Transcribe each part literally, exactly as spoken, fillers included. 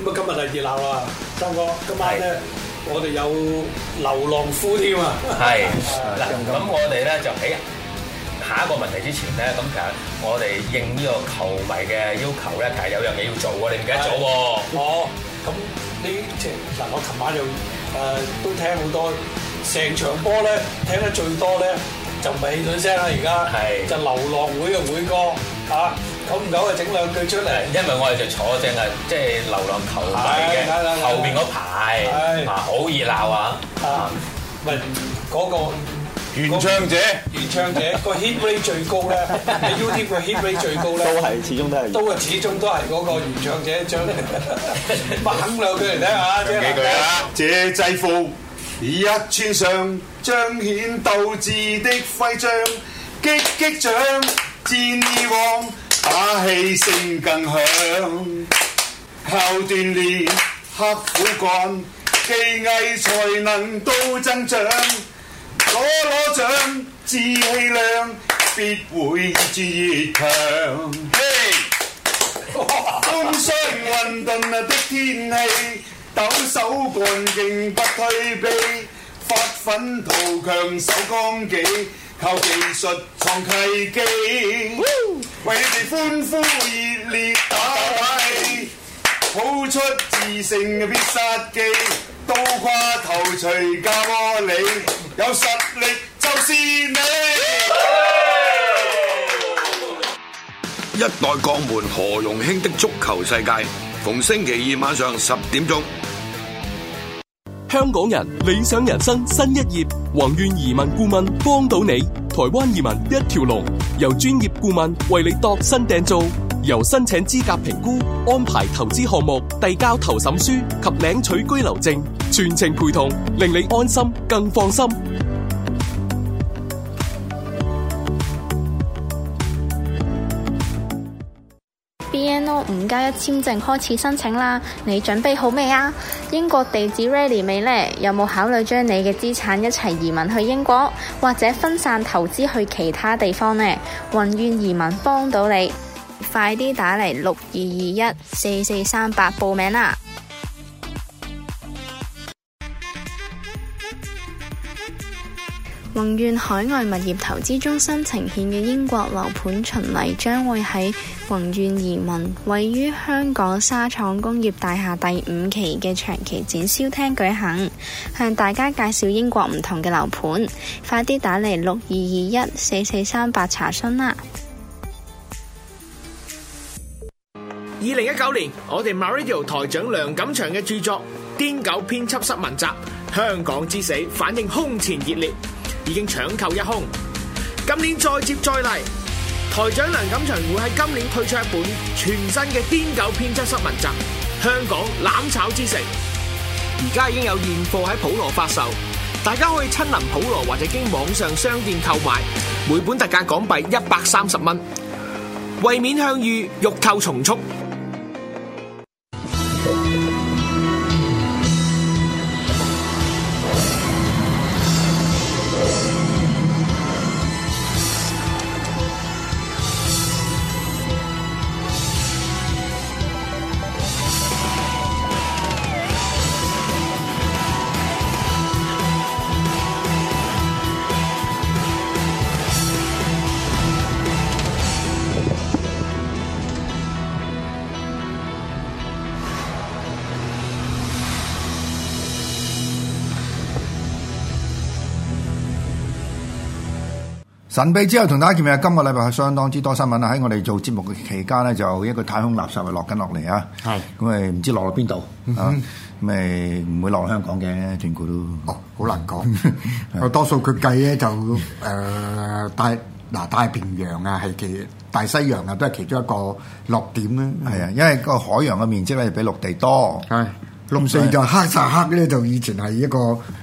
咁啊，今日係熱鬧啦，三哥，今晚咧我哋有流浪夫添啊！ 係嗱，咁我哋咧就喺下一個問題之前咧，咁其實我哋應呢個球迷嘅要求咧，其實有樣嘢要做喎，你唔記得咗喎？ 哦，咁呢即係嗱，我琴晚就誒都聽好多，成場波咧聽得最多咧就唔係汽水聲啦，而家係就流浪會嘅會歌嚇。久唔久啊，整兩句出嚟， 因為我哋就坐正係即係流浪球迷嘅後邊嗰排啊，好熱鬧啊！啊， 唔係嗰個原唱者， 原唱者個 hit rate 最高咧，你 YouTube 個 hit rate 最高咧， 都係始終都係， 都係始終都係嗰個原唱者將猛兩句嚟聽下， 幾句啊！這制服一穿上，彰顯鬥志的徽章，擊擊掌，戰意旺。打氣聲更響，靠鍛鍊刻苦幹，技藝才能都增長。攞攞獎，志氣量，必會意志越強。嘿，風霜混沌的天氣，抖手幹勁不退避，發奮圖強守綱紀。靠技術創契機，為你哋歡呼熱烈打氣，譜出自勝嘅必殺技，倒掛頭錘教我你，有實力就是你。一代鋼門何容興的足球世界，逢星期二晚上十點鐘。 香港人理想人生新一頁，宏願移民顧問幫到你，台灣移民一條龍，由專業顧問為你度身訂造，由申請資格評估、安排投資項目、遞交投審書及領取居留證，全程陪同，令你安心更放心。 B N O 五加一簽證開始申請啦，你準備好未啊？英國地址 ready 未呢？有冇考慮將你嘅資產一齊移民去英國，或者分散投資去其他地方呢？宏願移民幫到你，快啲打嚟六二二一四四三八報名啦！宏願海外物業投資中心呈現嘅英國樓盤巡禮將會喺宏願移民位於香港沙廠工業大廈第五期嘅長期展銷廳舉行，向大家介紹英國唔同嘅樓盤，快啲打嚟六二二一四四三八查詢啦！ 二零一九年，我哋 MyRadio 台長梁錦祥嘅著作《癲狗編輯室文集》香港之死反應空前熱烈，已經搶購一空。今年再接再厲，台長梁錦祥會喺今年推出一本全新嘅《癲狗編輯室文集》香港攬炒之城，而家已經有現貨喺普羅發售，大家可以親臨普羅或者經網上商店購買，每本特價港幣一百三十蚊，為免向隅，欲購從速。 神秘之後同大家見面，今個禮拜係相當之多新聞啦。喺我哋做節目嘅期間咧，就一個太空垃圾係落緊落嚟啊！係咁誒，唔知落到邊度啊？咁誒唔會落香港嘅，斷估都哦，好難講。多數佢計咧就誒、呃、大嗱太平洋啊，係其大西洋啊，都係其中一個落點啦。 係啊，因為個海洋嘅面積咧比陸地多。係。咁所以就黑曬黑咧，就以前係一個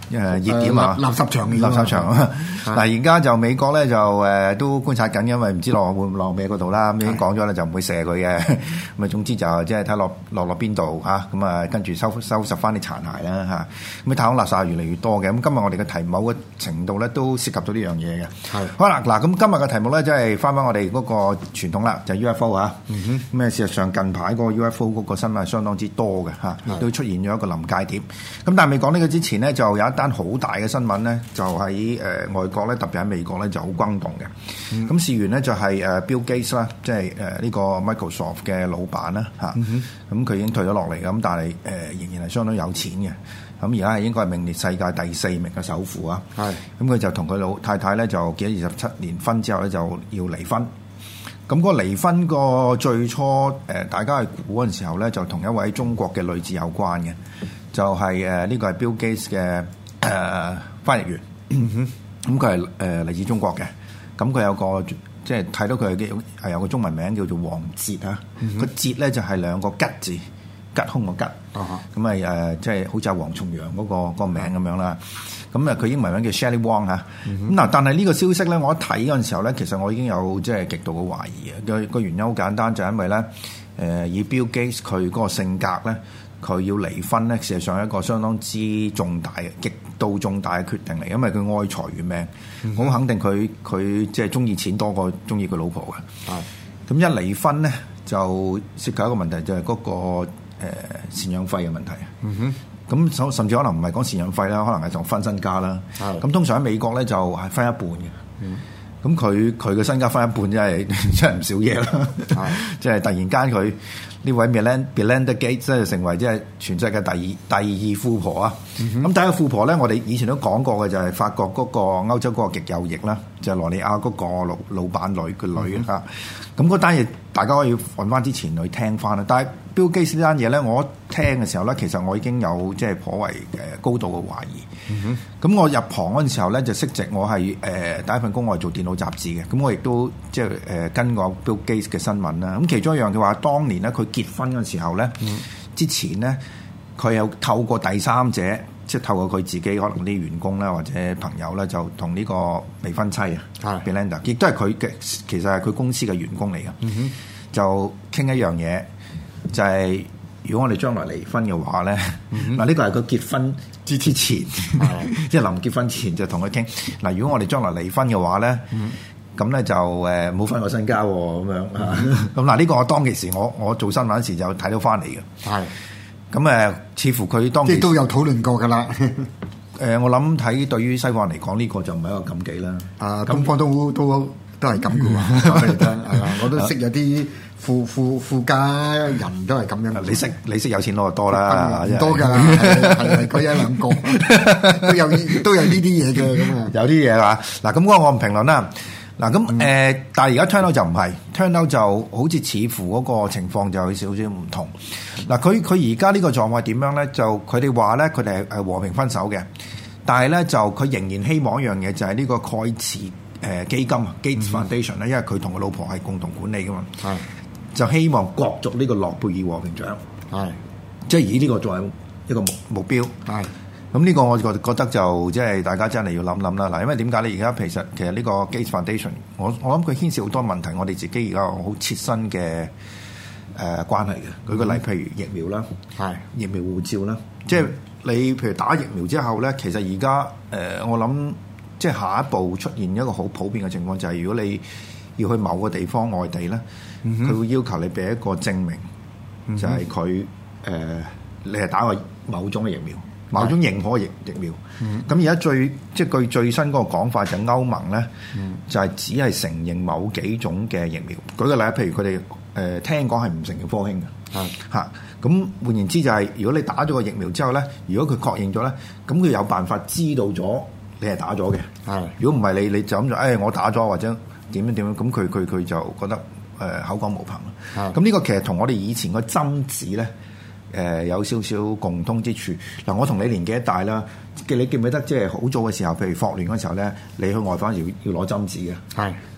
誒熱點啊， 垃圾場垃圾場。嗱而家就美國咧就誒都觀察緊，因為唔知落會唔落咩嗰度啦。咁已經講咗咧就唔會射佢嘅。咁啊總之就即係睇落落落邊度嚇，咁啊跟住收收拾翻啲殘骸啦嚇。咁太空垃圾越嚟越多嘅。咁今日我哋嘅題目某個程度咧都涉及到呢樣嘢嘅。係好啦，嗱咁今日嘅題目咧即係翻返我哋嗰個傳統啦，就係 U F O 啊。嗯哼。咁啊事實上近排嗰個 U F O 嗰個新聞係相當之多嘅嚇，都出現咗一個臨界點。咁但係未講呢個之前呢，就有一單好大嘅新聞咧，就喺誒、呃、外國咧，特別喺美國咧就好轟動嘅。咁、嗯、事緣咧就係誒 Bill Gates 啦，即係誒呢個 Microsoft 嘅老闆啦嚇。咁佢、嗯嗯、已經退咗落嚟，咁但係誒、呃、仍然係相當有錢嘅。咁而家係應該係名列世界第四名嘅首富啊。係。咁佢就同佢老太太咧就結咗二十七年婚之後咧就要離婚。咁嗰個離婚個最初誒、呃、大家係估嗰陣時候咧，就同一位中國嘅女子有關嘅。就係誒呢個係 Bill Gates 嘅誒、呃、翻譯員，咁佢係誒嚟自中國嘅，咁佢有個即係睇到佢嘅係有個中文名叫做王哲啊，個哲咧就係兩個吉字，吉凶個吉，咁咪誒即係好似阿黃重陽嗰個嗰個名咁樣啦，咁啊佢英文名叫 Shelley Wong 嚇，咁嗱但係呢個消息咧，我一睇嗰陣時候咧，其實我已經有即係極度嘅懷疑嘅，個個原因好簡單，就係因為咧誒、呃、以 Bill Gates 佢嗰個性格咧。佢要離婚咧，事實上係一個相當之重大嘅、極度重大嘅決定嚟，因為佢愛財如命，我、嗯、肯定佢佢即係中意錢多過中意佢老婆嘅。係咁、嗯、一離婚咧，就涉及一個問題，就係、是、嗰、那個誒贍養費嘅問題。嗯哼，咁甚至可能唔係講贍養費啦，可能係講分身家啦。係咁、嗯，通常喺美國咧就係分一半嘅。嗯，咁佢佢嘅身家分一半，真係真係唔少嘢啦。係，即係突然間佢。呢位 Melinda Gates 即係成為即係全世界第二第二富婆啊！咁、嗯、第一個富婆咧，我哋以前都講過嘅就係法國嗰個歐洲嗰個極右翼啦，就係、是、羅里亞嗰個老老闆女嘅女嚇。咁嗰單嘢大家可以揾翻之前去聽翻啦。但係 Bill Gates 呢單嘢咧，我聽嘅時候咧，其實我已經有即係頗為誒高度嘅懷疑。咁、嗯、我入行嗰陣時候咧，就識直我係誒、呃、第一份工我係做電腦雜誌嘅。咁我亦都即係誒跟過 Bill Gates 嘅新聞啦。咁其中一樣嘅話，當年咧佢結婚嗰陣時候咧，嗯、之前咧佢有透過第三者，即係透過佢自己可能啲員工啦或者朋友咧，就同呢個未婚妻啊 Belinda 亦都係佢嘅，其實係佢公司嘅員工嚟嘅，嗯、就傾一樣嘢，就係、是、如果我哋將來離婚嘅話咧，嗱呢個係佢結婚之之前，即係臨結婚前就同佢傾，嗱如果我哋將來離婚嘅話咧。嗯咁咧就誒冇分我身家喎，咁樣咁嗱呢個我當其時我我做新聞嗰時就睇到翻嚟嘅。係咁誒，似乎佢當即係都有討論過㗎啦。誒、 呃，我諗睇對於西方人嚟講，呢、這個就唔係一個禁忌啦。 啊，東方都都都係咁嘅喎。我都識有啲富富富家人都係咁樣。 你識你識有錢佬就多啦， 唔多㗎，係嗰一兩個都有都有呢啲嘢嘅咁啊。 有啲嘢係嘛？嗱咁嗰個我唔評論啦。嗱咁誒，但係而家 turn out 就唔係 turn out 就好似似乎嗰個情況就有少少唔同。嗱，佢佢而家呢個狀況點樣咧？就佢哋話咧，佢哋係和平分手嘅，但係咧就佢仍然希望一樣嘢，就係呢個蓋茨誒基金啊 Gates Foundation 咧，因為佢同佢老婆係共同管理噶嘛，係就希望角逐呢個諾貝爾和平獎，係即係以呢個作為一個目目標，係。咁呢個我覺覺得就即係大家真係要諗諗啦。嗱，因為點解咧？而家其實其實呢個 Gates Foundation，我我諗佢牽涉好多問題，我哋自己而家好切身嘅誒、呃、關係嘅。舉個例，譬如疫苗啦，係疫苗護照啦，嗯、即係你譬如打疫苗之後咧，其實而家誒我諗即係下一步出現一個好普遍嘅情況，就係、是、如果你要去某個地方外地咧，佢、嗯、哼會要求你俾一個證明，嗯、哼就係佢誒你係打過某種嘅疫苗。某種認可嘅疫疫苗，咁而家最即係據最新嗰個講法就係歐盟咧，嗯、就係只係承認某幾種嘅疫苗。舉個例，譬如佢哋誒聽講係唔承認科興嘅，嚇咁、嗯、換言之就係、是、如果你打咗個疫苗之後咧，如果佢確認咗咧，咁佢有辦法知道咗你係打咗嘅。係的如果唔係你你就咁就誒我打咗或者點樣點樣，咁佢佢佢就覺得誒、呃、口講無憑啦。咁呢的個其實同我哋以前個針紙咧。誒、呃、有少少共通之處嗱，我同你年紀一大啦，記你記唔記得即係好早嘅時候，譬如霍亂嗰時候咧，你去外訪時要要攞針紙嘅，係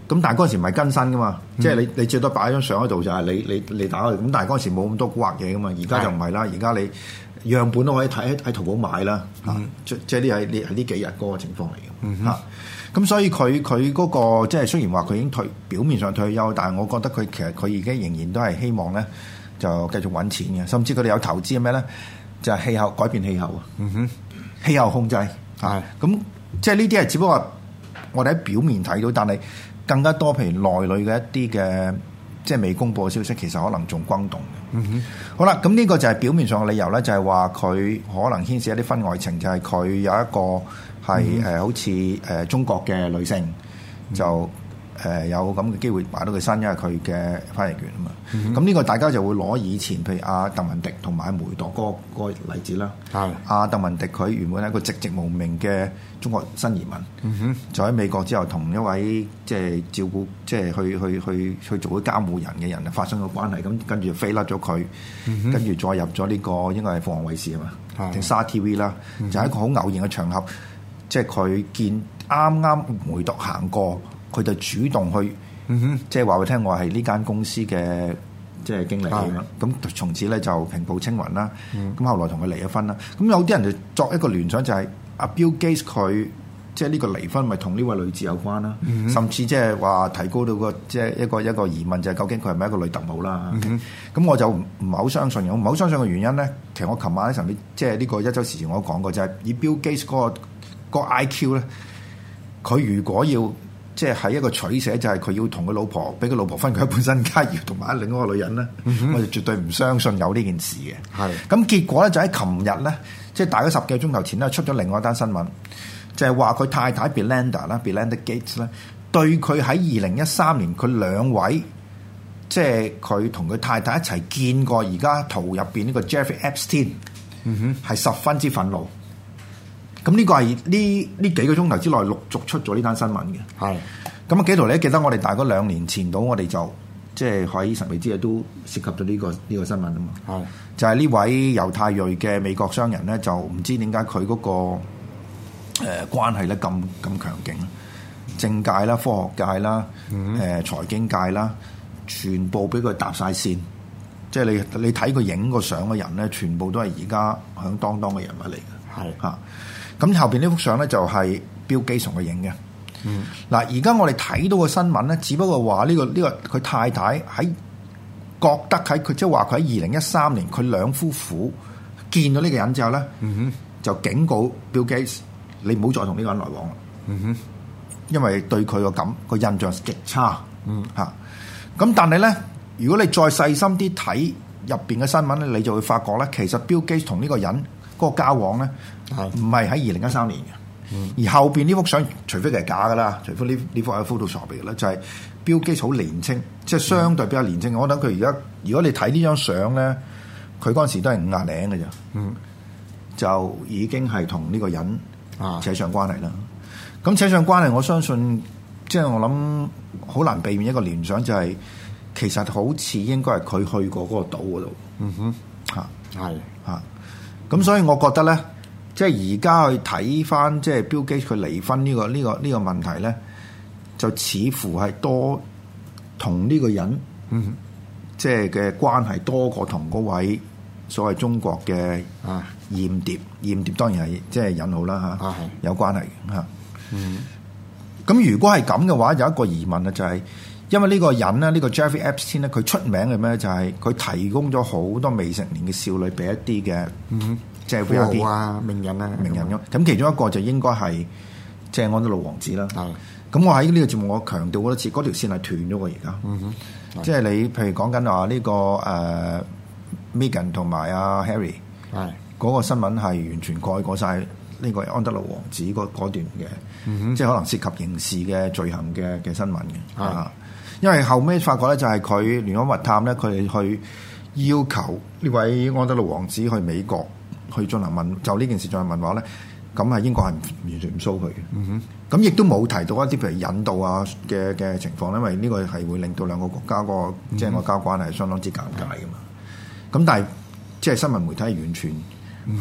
咁但係嗰陣時唔係更新噶嘛， 嗯、 即係你你最多擺張相喺度就係你你你打開，咁但係嗰陣時冇咁多古惑嘢噶嘛，而家就唔係啦，而家你樣本都可以睇喺淘寶買啦，嚇、嗯，即即係呢係呢係呢幾日嗰個情況嚟嘅，嚇、嗯。咁所以佢佢嗰個即係雖然話佢已經退表面上退休，但係我覺得佢其實佢而家仍然都係希望咧就繼續揾錢嘅，甚至佢哋有投資係咩咧？就係、是、氣候改變氣候啊，嗯哼，氣候控制啊，咁即係呢啲係只不過我哋喺表面睇到，但係更加多譬如內裏嘅一啲嘅即係未公佈嘅消息，其實可能仲轟動嘅。嗯哼，好啦，咁呢個就係表面上嘅理由咧，就係話佢可能牽涉一啲婚外情，就係、是、佢有一個。係誒、嗯呃，好似誒、呃、中國嘅女性、嗯、就誒、呃、有咁嘅機會買到佢身，因為佢嘅翻譯權啊嘛。咁呢、嗯、哼個大家就會攞以前譬如阿鄧文迪同埋梅鐸嗰個例子啦。係阿鄧文迪佢原本係一個籍籍無名嘅中國新移民，嗯、哼就喺美國之後同一位即係照顧即係去去去去做啲監護人嘅人發生咗關係，咁跟住就飛甩咗佢，嗯、哼跟住再入咗呢、這個應該係鳳凰衛視啊嘛，定沙 T V 啦，嗯、哼就係一個好偶然嘅場合。即係佢見啱啱梅鐸行過，佢就主動去，嗯、哼即係話佢聽我係呢間公司嘅即係經理咁樣。咁的從此咧就平步青雲啦。咁、嗯、後來同佢離咗婚啦。咁有啲人就作一個聯想就係、是、阿 Bill Gates 佢即係呢個離婚咪同呢位女子有關啦。嗯、哼甚至即係話提高到個即係一個一個疑問就係究竟佢係咪一個女特務啦？咁、嗯、哼我就唔唔係好相信。我唔係好相信嘅原因咧，其實我琴晚喺上面即係呢個一周時前我都講過，就係、是、以 Bill Gates 嗰、那個。個 I Q 咧，佢如果要即係喺一個取捨，就係佢要同佢老婆俾佢老婆分佢一半身家，要同埋另一個女人咧，嗯、哼我就絕對唔相信有呢件事嘅。係咁結果咧，就喺琴日咧，即係大概十幾個鐘頭前咧，出咗另外一單新聞，就係話佢太太 Belinda 啦，Belinda Gates 咧，對佢喺二零一三年佢兩位即係佢同佢太太一齊見過，而家圖入邊呢個 Jeffrey Epstein，嗯哼，係十分之憤怒。咁呢個係呢呢幾個鐘頭之內陸續出咗呢單新聞嘅。係咁啊，紀陶你記得我哋大概兩年前到，我哋就即係喺神秘之夜都涉及到呢、這個呢、這個新聞啊嘛。係是就係呢位猶太裔嘅美國商人咧，就唔知點解佢嗰個誒、呃、關係咧咁咁強勁，政界啦、科學界啦、誒、嗯呃、財經界啦，全部俾佢搭晒線。即係你你睇佢影個相嘅人咧，全部都係而家響當當嘅人物嚟嘅。係嚇是。咁後邊呢幅相咧就係 Bill Gates同佢影嘅。嗯，嗱，而家我哋睇到個新聞咧，只不過話呢個呢個佢太太喺覺得喺佢即係話佢喺二零一三年佢兩夫婦見到呢個人之後咧，嗯哼，就警告 Bill Gates 你唔好再同呢個人來往啦。嗯哼，因為對佢個感個印象極差。嗯，嚇、啊。咁但係咧，如果你再細心啲睇入邊嘅新聞咧，你就會發覺咧，其實 Bill Gates 同呢個人嗰個交往咧，唔係喺二零一三年嘅，嗯、而後邊呢幅相，除非佢係假噶啦，除非呢呢幅係 Photoshop 嚟嘅啦，就係 Bill Gates好年青，即係相對比較年青。嗯、我諗佢而家，如果你睇呢張相咧，佢嗰陣時都係五廿零嘅咋，嗯，就已經係同呢個人扯上關係啦。咁、啊、扯上關係，我相信即係我諗好難避免一個聯想，就係、是、其實好似應該係佢去過嗰個島嗰度。嗯哼，嚇係嚇。咁所以我覺得咧，即係而家去睇翻即係 Bill Gates 佢離婚呢個呢個呢個問題咧，就似乎係多同呢個人，嗯，即係嘅關係多過同嗰位所謂中國嘅啊間諜，間諜當然係即係引號啦嚇，有關係嚇。嗯，咁如果係咁嘅話，有一個疑問啊，就係因為呢個人咧，呢個 Jeffrey Epstein 咧，佢出名嘅咩？就係佢提供咗好多未成年嘅少女俾一啲嘅，嗯，即係 V I P 啊、名人啊、名人咁。咁其中一個就應該係即係安德魯王子啦。係。咁我喺呢個節目我強調好多次，嗰條線係斷咗嘅而家。嗯哼。即係你譬如講緊話呢個誒 Meghan 同埋阿 Harry，係嗰個新聞係完全改過晒呢個安德魯王子嗰嗰段嘅，嗯哼，即係可能涉及刑事嘅罪行嘅嘅新聞嘅。啊。因為後尾發覺咧，就係佢聯邦密探咧，佢哋去要求呢位安德魯王子去美國去進行問，就呢件事進行問話咧，咁係英國係完全唔騷佢嘅。嗯哼，咁亦都冇提到一啲譬如引渡啊嘅嘅情況，因為呢個係會令到兩個國家個即係外交關係相當之尷尬噶嘛。咁、嗯、哼但係即係新聞媒體係完全喺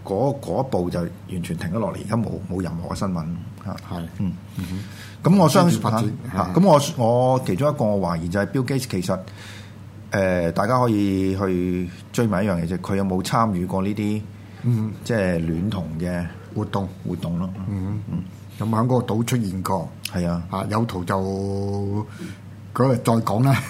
嗰嗰一步就完全停咗落嚟，而家冇冇任何嘅新聞嚇。 係， 嗯嗯哼。咁我相信發展嚇，咁我我其中一個我懷疑就係 Bill Gates 其實誒、呃，大家可以去追問一樣嘢就係佢有冇參與過呢啲嗯即係戀童嘅活動活動咯。 嗯嗯，咁喺嗰個島出現過， 係啊， 啊有圖就嗰日再講啦。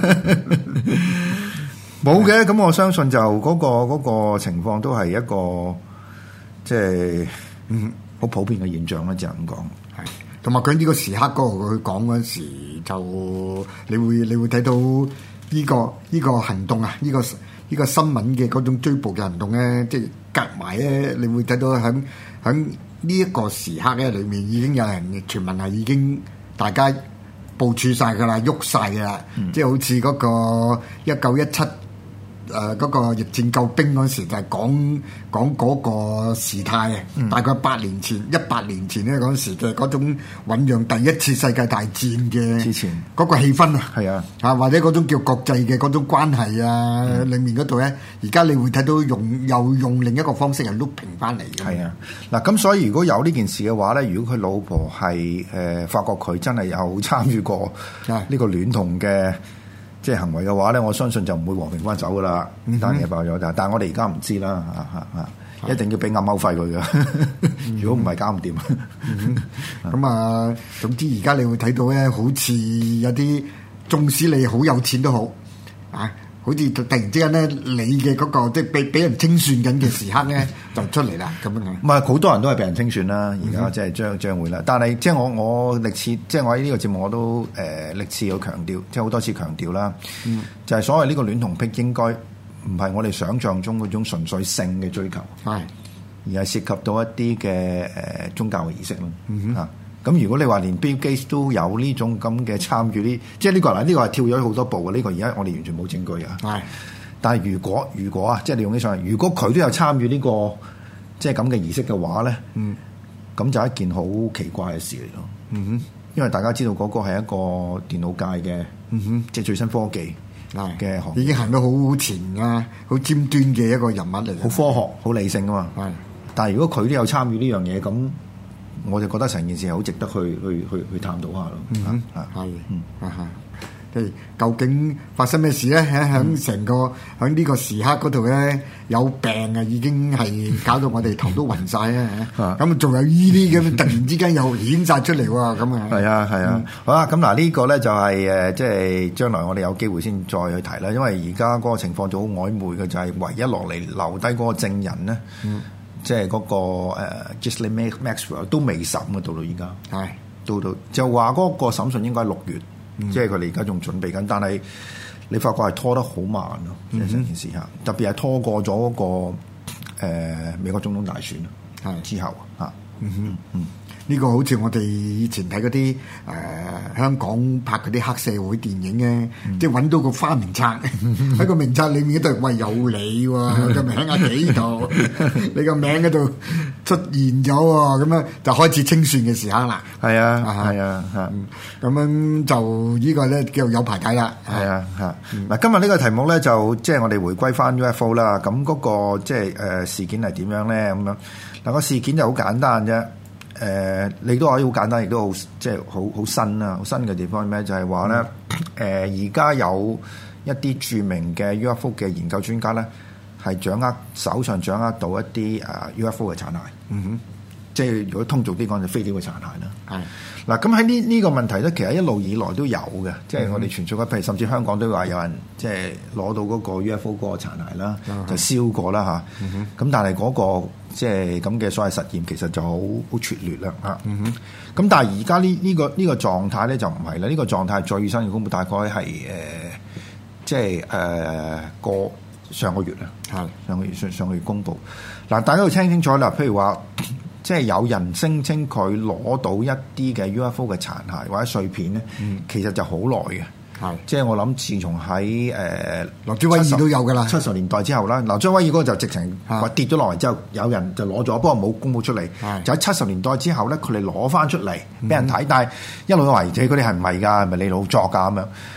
冇嘅，咁我相信就嗰、嗰個嗰、嗰個情況都係一個即係嗯好普遍嘅現象啦，就係咁講。 係，同埋佢呢個時刻嗰個佢講嗰陣時，就你會你會睇到呢、呢個呢、呢個行動啊，呢、呢個呢、呢個新聞嘅嗰種追捕嘅行動咧，即係夾埋咧，你會睇到喺喺呢一個時刻咧裏面已經有人傳聞係已經大家部署晒㗎啦，喐晒㗎啦，嗯、即係好似嗰個一九一七。誒嗰、呃那個逆戰救兵嗰時就係講講嗰個時態啊，嗯、大概八年前、一百年前咧嗰時嘅嗰種醖釀第一次世界大戰嘅之前嗰個氣氛啊，係啊，啊或者嗰種叫國際嘅嗰種關係啊，嗯、裡面嗰度咧，而家你會睇到用又用另一個方式係 looping 翻嚟嘅。係啊，嗱咁所以如果有呢件事嘅話咧，如果佢老婆係誒、呃、發覺佢真係有參與過呢個戀童嘅。即係行為嘅話咧，我相信就唔會和平翻走噶啦。呢單嘢爆咗，但但係我哋而家唔知啦，嚇嚇嚇，一定要俾暗歐費佢嘅。如果唔係搞唔掂。咁啊，總之而家你會睇到咧，好似有啲，縱使你好有錢都好啊，好似突然之間咧，你嘅嗰個即係俾俾人清算緊嘅時刻咧，就出嚟啦咁樣。唔係好多人都係俾人清算啦，而家即係將將會啦。但係即係我我歷次即係我喺呢個節目我都誒歷次有強調，即係好多次強調啦，嗯、就係所謂呢個戀童癖應該唔係我哋想象中嗰種純粹性嘅追求，係而係涉及到一啲嘅誒宗教嘅儀式咯，嗯、哼啊。咁如果你話連 Bill Gates 都有呢種咁嘅參與呢，即係呢個嗱，呢個係跳咗好多步嘅，呢個而家我哋完全冇證據嘅。係，但係如果如果啊，即係你用起上嚟，如果佢都有參與呢個即係咁嘅儀式嘅話咧，嗯，咁就係一件好奇怪嘅事嚟咯。嗯哼，因為大家知道嗰個係一個電腦界嘅，嗯哼，即係最新科技嘅行業，已經行到好前啊，好尖端嘅一個人物嚟，好科學、好理性啊嘛。係，但係如果佢都有參與呢樣嘢，咁我就覺得成件事係好值得去去去去探討下咯。嗯，係，嗯，啊哈，即係究竟發生咩事咧？喺喺成個喺呢個時刻嗰度咧，有病啊，已經係搞到我哋頭都暈晒啊！咁仲有呢啲咁，突然之間又顯晒出嚟喎！咁啊，係啊，係啊，好啦，咁嗱呢個咧就係誒，即係將來我哋有機會先再去提啦。因為而家嗰個情況就好曖昧嘅，就係唯一落嚟留低嗰個證人咧。嗯。即係嗰、那個誒 Ghislaine Maxwell 都未審嘅，到到而家，係到到就話嗰個審訊應該係六月，嗯、即係佢哋而家仲準備緊，但係你發覺係拖得好慢咯，即係成件事嚇，特別係拖過咗嗰、那個、呃、美國總統大選係之後嚇，嗯哼嗯。呢個好似我哋以前睇嗰啲誒香港拍嗰啲黑社會電影咧，嗯、即係揾到個花名冊喺個名冊裏面嗰度，喂有你喎，個名喺幾度？你個名嗰度出現咗喎，咁樣就開始清算嘅時刻啦。係啊，係啊，嚇！咁樣就呢個咧叫有排睇啦。係啊，嚇！嗱、嗯，今日呢個題目咧就即係我哋回歸翻 U F O 啦。咁嗰個即係誒事件係點樣咧？咁樣嗱個事件就好簡單啫。誒、呃，你都可以好簡單，亦都好即係好好新啊！好新嘅地方係咩？就係話咧，誒而家有一啲著名嘅 U F O 嘅研究專家咧，係掌握手上掌握到一啲誒 U F O 嘅殘骸。嗯哼，即係如果通俗啲講，就飛碟嘅殘骸啦。係嗱，咁喺呢呢個問題咧，其實一路以來都有嘅，即係我哋傳説嘅，譬如甚至香港都話有人即係攞到嗰個 U F O 嗰個殘骸啦，就燒過啦嚇。咁、嗯、但係嗰、嗰個即係咁嘅所謂實驗，其實就好好拙劣啦嚇。咁、嗯、但係而家呢呢個呢、呢個狀態咧就唔係啦，呢、呢個狀態最新嘅公佈大概係誒、呃，即係誒、呃、個上個月啊，係上個月上上個月公佈。嗱，大家要聽清楚啦，譬如話。即係有人聲稱佢攞到一啲嘅 U F O 嘅殘骸或者碎片咧，嗯、其實就好耐嘅。係是，即係我諗，自從喺誒羅斯威爾都有㗎啦，七十年代之後啦，羅斯威爾嗰個就直情話跌咗落嚟之後，有人就攞咗，不過冇公佈出嚟。是就喺七十年代之後咧，佢哋攞翻出嚟俾人睇，嗯、但係一路都懷疑自己嗰啲係唔係㗎，係咪你老作㗎咁樣？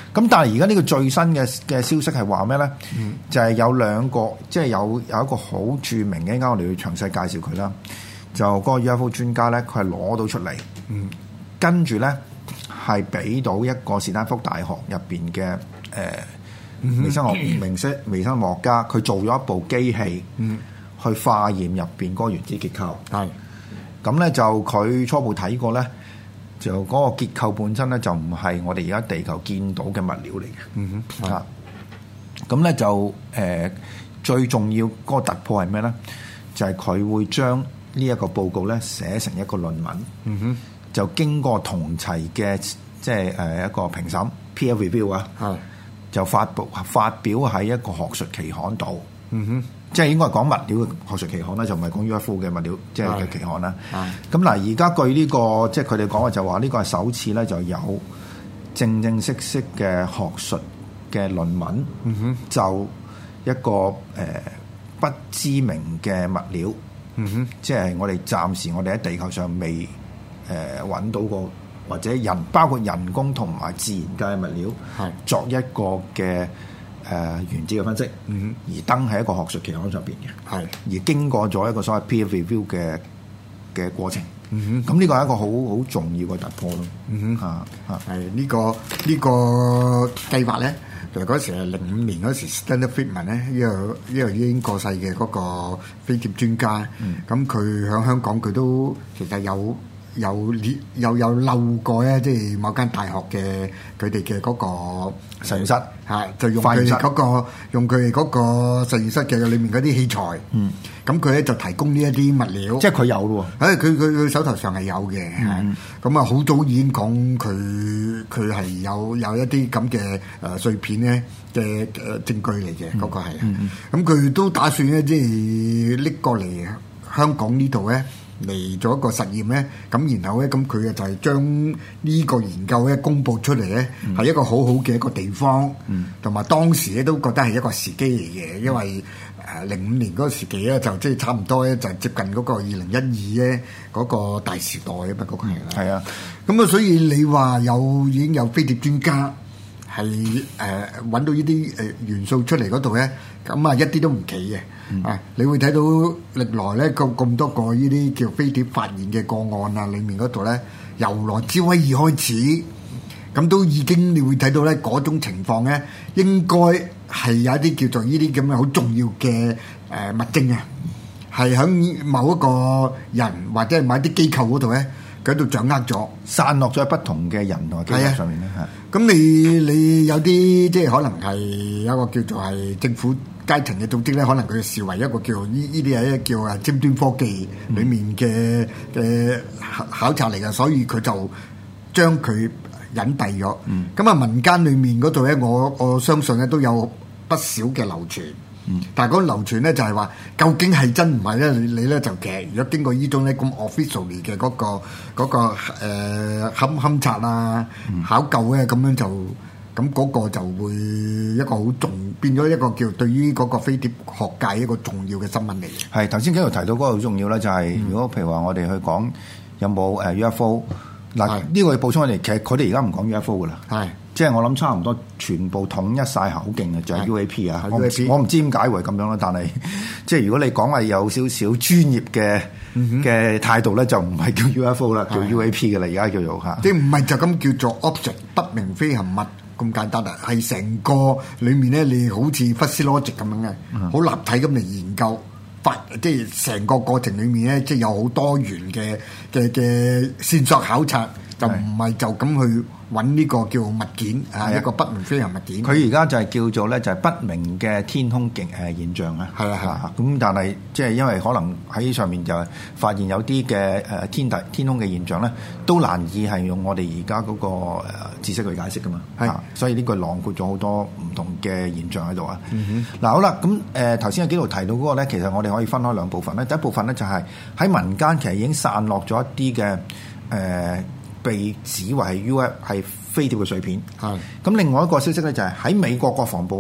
咁但係而家呢個最新嘅嘅消息係話咩咧？嗯、就係有兩個，即係有有一個好著名嘅，啱啱我哋要詳細介紹佢啦。就嗰個 U F O 專家咧，佢係攞到出嚟，嗯、跟住咧係俾到一個斯坦福大學入邊嘅誒微生學明星微生物學家，佢做咗一部機器，嗯、去化驗入邊嗰個原子結構。係咁咧，就佢初步睇過咧。就嗰個結構本身咧，就唔係我哋而家地球見到嘅物料嚟嘅。嗯哼，啊，咁咧就誒、呃、最重要嗰個突破係咩咧？就係、是、佢會將呢一個報告咧寫成一個論文。嗯哼，就經過同齊嘅即係誒一個評審 peer review 啊，係就發布發表喺一個學術期刊度。嗯哼。即係應該係講物料嘅學術期刊啦，就唔係講 U F O 嘅物料即係嘅期刊啦。咁嗱，而家據呢、這個即係佢哋講嘅就話呢個係首次咧就有正正式式嘅學術嘅論文，嗯、哼就一個誒、呃、不知名嘅物料，嗯、哼即係我哋暫時我哋喺地球上未誒揾、呃、到過，或者人包括人工同埋自然界嘅物料，係作一個嘅。誒、呃、原子嘅分析，嗯、而登喺一個學術期刊上邊嘅，係而經過咗一個所謂 peer review 嘅嘅過程，咁呢、嗯、個係一個好好重要嘅突破咯。嗯哼，嚇嚇係呢個呢、呢個計劃咧，就嗰時係零五年嗰時 Stanley Friedman 咧，呢個呢個已經過世嘅嗰個飛碟專家，咁佢喺香港佢都其實有。有有有漏過咧，即係某間大學嘅佢哋嘅嗰個實驗室嚇，就用佢哋嗰個用佢哋嗰個實驗室嘅裏面嗰啲器材。嗯，咁佢咧就提供呢一啲物料，即係佢有咯喎。誒，佢佢佢手頭上係有嘅。嗯，咁啊，好早已經講佢佢係有有一啲咁嘅誒碎片咧嘅誒證據嚟嘅，嗰個係。嗯嗯。咁佢都打算咧，即係拎過嚟香港呢度咧。嚟做一個實驗咧，咁然後咧，咁佢啊就係將呢個研究咧公佈出嚟咧，係、嗯、一個好好嘅一個地方，同埋、嗯、當時咧都覺得係一個時機嚟嘅，因為誒零五年嗰個時期咧就即係差唔多咧就接近嗰個二零一二咧嗰個大時代啊嘛，嗰個係啦。係啊，咁啊，所以你話有已經有飛碟專家係誒揾到呢啲誒元素出嚟嗰度咧，咁啊一啲都唔奇嘅。嗯、啊！你會睇到歷來咧咁咁多個呢啲叫飛碟發現嘅個案啊，裡面嗰度咧，由羅茲威爾開始，咁都已經你會睇到咧嗰種情況咧，應該係有一啲叫做呢啲咁嘅好重要嘅誒、呃、物證啊，係喺某一個人或者係某一啲機構嗰度咧，佢喺度掌握咗，散落咗喺不同嘅人同埋機構上面咧嚇。咁、啊、你你有啲即係可能係有一個叫做係政府階層嘅組織咧，可能佢視為一個叫呢呢啲係一個叫啊尖端科技裡面嘅嘅考考察嚟嘅，所以佢就將佢隱蔽咗。咁啊、嗯、民間裡面嗰度咧，我我相信咧都有不少嘅流傳。嗯、但係嗰流傳咧就係話，究竟係真唔係咧？你你咧就其實如果經過呢種咧咁 officially 嘅嗰個嗰、嗰個誒勘勘察啊、嗯、考究咧，咁樣就。咁嗰個就會一個好重，變咗一個叫對於嗰個飛碟學界一個重要嘅新聞嚟嘅。係頭先幾度提到嗰個好重要咧，就係、是、如果譬如話我哋去講有冇誒 U F O 嗱，呢個要補充我哋，其實佢哋而家唔講 U F O 噶啦，係即係我諗差唔多全部統一晒口徑嘅就係、是、U A P 啊。我唔知點解會咁樣啦，但係即係如果你講話有少少專業嘅嘅態度咧，就唔係叫 U F O 啦，叫 U A P 嘅啦，而家叫做嚇。即係唔係就咁叫做 object 不明飛行物？咁簡單啊，係成個裡面咧，你好似 fuzzy logic 咁樣嘅，好、嗯、立體咁嚟研究，發即係成個過程裡面咧，即係有好多元嘅嘅嘅線索考察，就唔係就咁去揾呢個叫物件啊，一個不明飛行物件。佢而家就係叫做咧，就係不明嘅天空嘅誒現象啊。係啊係啊。咁但係即係因為可能喺上面就發現有啲嘅誒天大天空嘅現象咧，都難以係用我哋而家嗰個誒知識去解釋噶嘛。係。所以呢個囊括咗好多唔同嘅現象喺度啊。嗯哼。嗱好啦，咁誒頭先有幾度提到嗰個咧，其實我哋可以分開兩部分咧。第一部分咧就係喺民間其實已經散落咗一啲嘅誒。呃被指為係 U F 係飛碟嘅碎片，係咁。另外一個消息咧就係喺美國國防部咧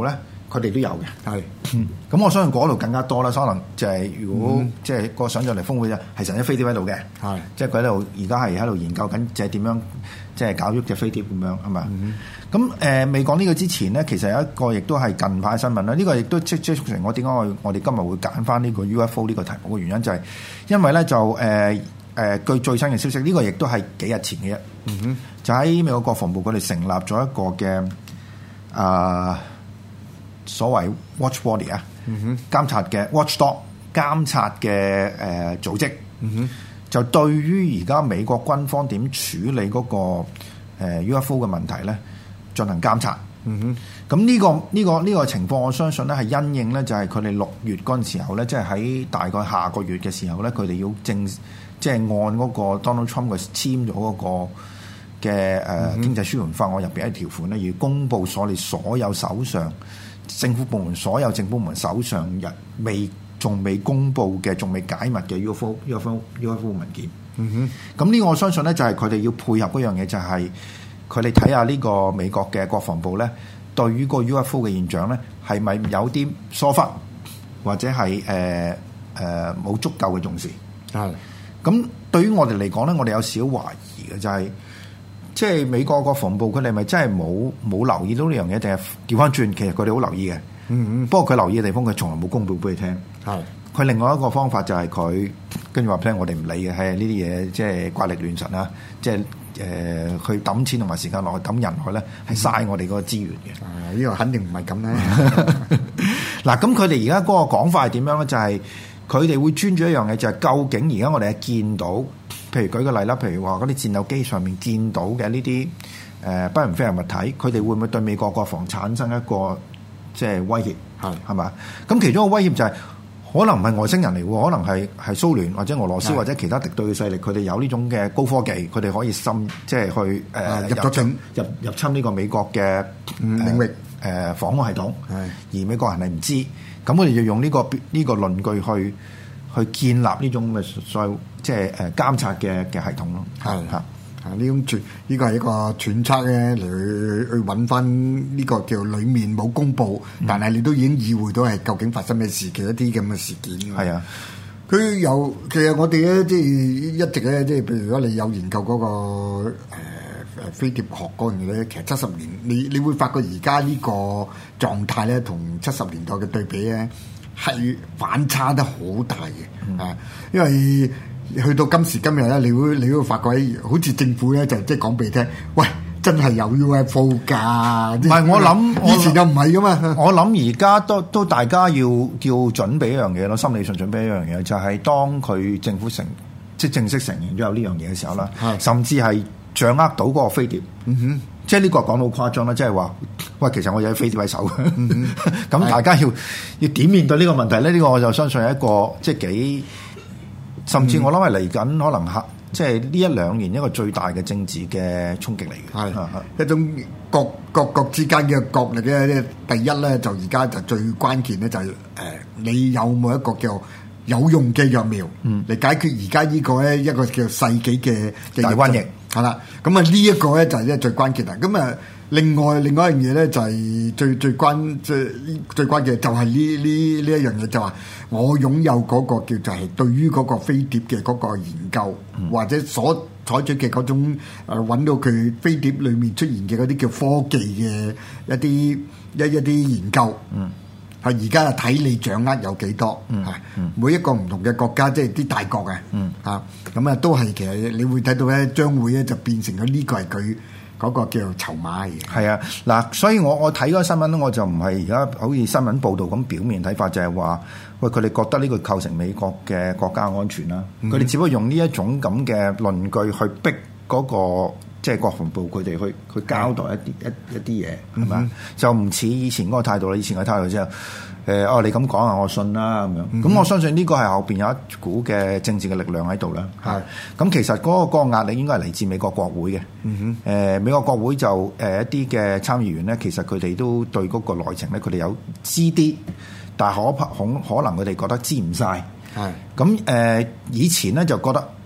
佢哋都有嘅。 係， 咁我相信嗰度更加多啦。可能就係如果、 嗯、 即係個想像力峰會咧，係成隻飛碟喺度嘅。係，即係佢喺度而家係喺度研究緊，即係點樣即係搞喐隻飛碟咁樣係嘛？咁誒、嗯呃、未講呢個之前咧，其實有一個亦都係近排新聞啦。呢、這個亦都即即促成我點解我我哋今日會揀翻呢個 U F O 呢個題目嘅原因，就係因為咧就誒。呃誒、呃、據最新嘅消息，呢、這個亦都係幾日前嘅啫。嗯哼，就喺美國國防部佢哋成立咗一個嘅啊、呃、所謂 Watch Body 啊，嗯哼，監察嘅 Watchdog 監察嘅誒、呃、組織。嗯哼，就對於而家美國軍方點處理嗰、那個、呃、U F O 嘅問題咧，進行監察。嗯哼，咁呢、這個呢、這個呢、這個情況，我相信咧係因應咧，就係佢哋六月嗰陣時候咧，即係喺大概下個月嘅時候咧，佢哋要正。即係按嗰個 Donald Trump 佢簽咗嗰個嘅誒經濟舒緩法案入邊一條款咧，要公佈所你所有手上政府部門所有政府部門手上日未仲未公佈嘅、仲未解密嘅 U F O U F O U F O 文件。嗯哼，咁呢個我相信咧就係佢哋要配合嗰樣嘢，就係佢哋睇下呢個美國嘅國防部咧，對於個 U F O 嘅現象咧係咪有啲疏忽，或者係誒誒冇足夠嘅重視。係。咁對於我哋嚟講咧，我哋有少懷疑嘅就係、是，即係美國國防部佢哋咪真係冇冇留意到呢樣嘢，定係調翻轉？其實佢哋好留意嘅。嗯嗯。不過佢留意嘅地方，佢從來冇公佈俾你聽。係。佢另外一個方法就係佢跟住話聽，我哋唔理嘅，係呢啲嘢即係怪力亂神啦，即係誒去抌錢同埋時間落去抌人去咧，係嘥我哋嗰個資源嘅。係、嗯，呢個肯定唔係咁咧。嗱，咁佢哋而家嗰個講法係點樣咧？就係、是。佢哋會專注一樣嘢，就係、是、究竟而家我哋係見到，譬如舉個例啦，譬如話嗰啲戰鬥機上面見到嘅呢啲誒不明飛行物體，佢哋會唔會對美國國防產生一個即係威脅？係係嘛？咁其中一個威脅就係、是、可能唔係外星人嚟喎，可能係係蘇聯或者俄羅斯或者其他敵對嘅勢力，佢哋有呢種嘅高科技，佢哋可以深即係去誒、呃、入咗侵入入侵呢個美國嘅、嗯、領域誒、呃、防空系統，而美國人係唔知。咁我哋就用呢、這個呢、這個論據去去建立呢種嘅所謂即係誒監察嘅嘅系統咯。係嚇啊！呢種揣呢個係一個揣測咧，嚟去去揾翻呢個叫裡面冇公佈，嗯、但係你都已經意會到係究竟發生咩事嘅一啲咁嘅事件。係啊，佢有其實我哋咧即係一直咧即係譬如如果你有研究嗰、那個誒誒、呃、飛碟學嗰樣嘢咧，其實七十年你你會發覺而家呢個狀態咧，同七十年代嘅對比咧，係反差得好大嘅啊！嗯、因為去到今時今日咧，你會你會發覺好似政府咧就即係講俾你聽，喂，真係有 U F O 㗎！唔係我諗，以前就唔係噶嘛。我諗而家都都大家要要準備一樣嘢咯，心理上準備一樣嘢，就係、是、當佢政府承即係正式承認咗有呢樣嘢嘅時候啦，甚至係掌握到嗰個飛碟。嗯哼。即係呢個講到好誇張啦，即係話，喂，其實我有飛碟喺手嘅，咁、嗯、大家要要點面對呢個問題咧？呢、呢個我就相信係一個即係幾，甚至我諗係嚟緊可能嚇，即係呢一兩年一個最大嘅政治嘅衝擊嚟嘅，係一種各各國之間嘅角力咧。第一咧就而家就最關鍵咧就係、是、誒、呃，你有冇一個叫有用嘅藥苗嚟、嗯、解決而家呢個咧一個叫世紀嘅大瘟疫。係啦，咁啊呢一個咧就係咧最關鍵啦。咁啊，另外另外一樣嘢咧就係最最關最最關鍵就係呢呢呢一樣嘢，就話我擁有嗰個叫就係對於嗰個飛碟嘅嗰個研究，嗯、或者所採取嘅嗰種誒揾到佢飛碟裡面出現嘅嗰啲叫科技嘅一啲一一啲研究。嗯。係而家啊睇你掌握有幾多，嚇、嗯嗯、每一個唔同嘅國家，即係啲大國嘅，嚇咁啊都係其實你會睇到咧，將會咧就變成咗呢個係佢嗰個叫做籌碼嘅。係啊，嗱，所以我我睇嗰個新聞咧，我就唔係而家好似新聞報導咁表面睇法，就係、是、話喂佢哋覺得呢個構成美國嘅國家安全啦，佢哋、嗯、只不過用呢一種咁嘅論據去逼嗰、那個。即係國防部佢哋去去交代一啲一一啲嘢係嘛，嗯、就唔似以前嗰個態度啦。以前嘅態度之後，誒、呃、哦你咁講啊，我信啦咁樣。咁、嗯、我相信呢個係後邊有一股嘅政治嘅力量喺度啦。係咁是，其實嗰、那個嗰、那個壓力應該係嚟自美國國會嘅。誒、嗯哼呃、美國國會就誒、呃、一啲嘅參議員咧，其實佢哋都對嗰個內情咧，佢哋有知啲，但係可可可能佢哋覺得知唔晒。係咁誒，以前咧就覺得。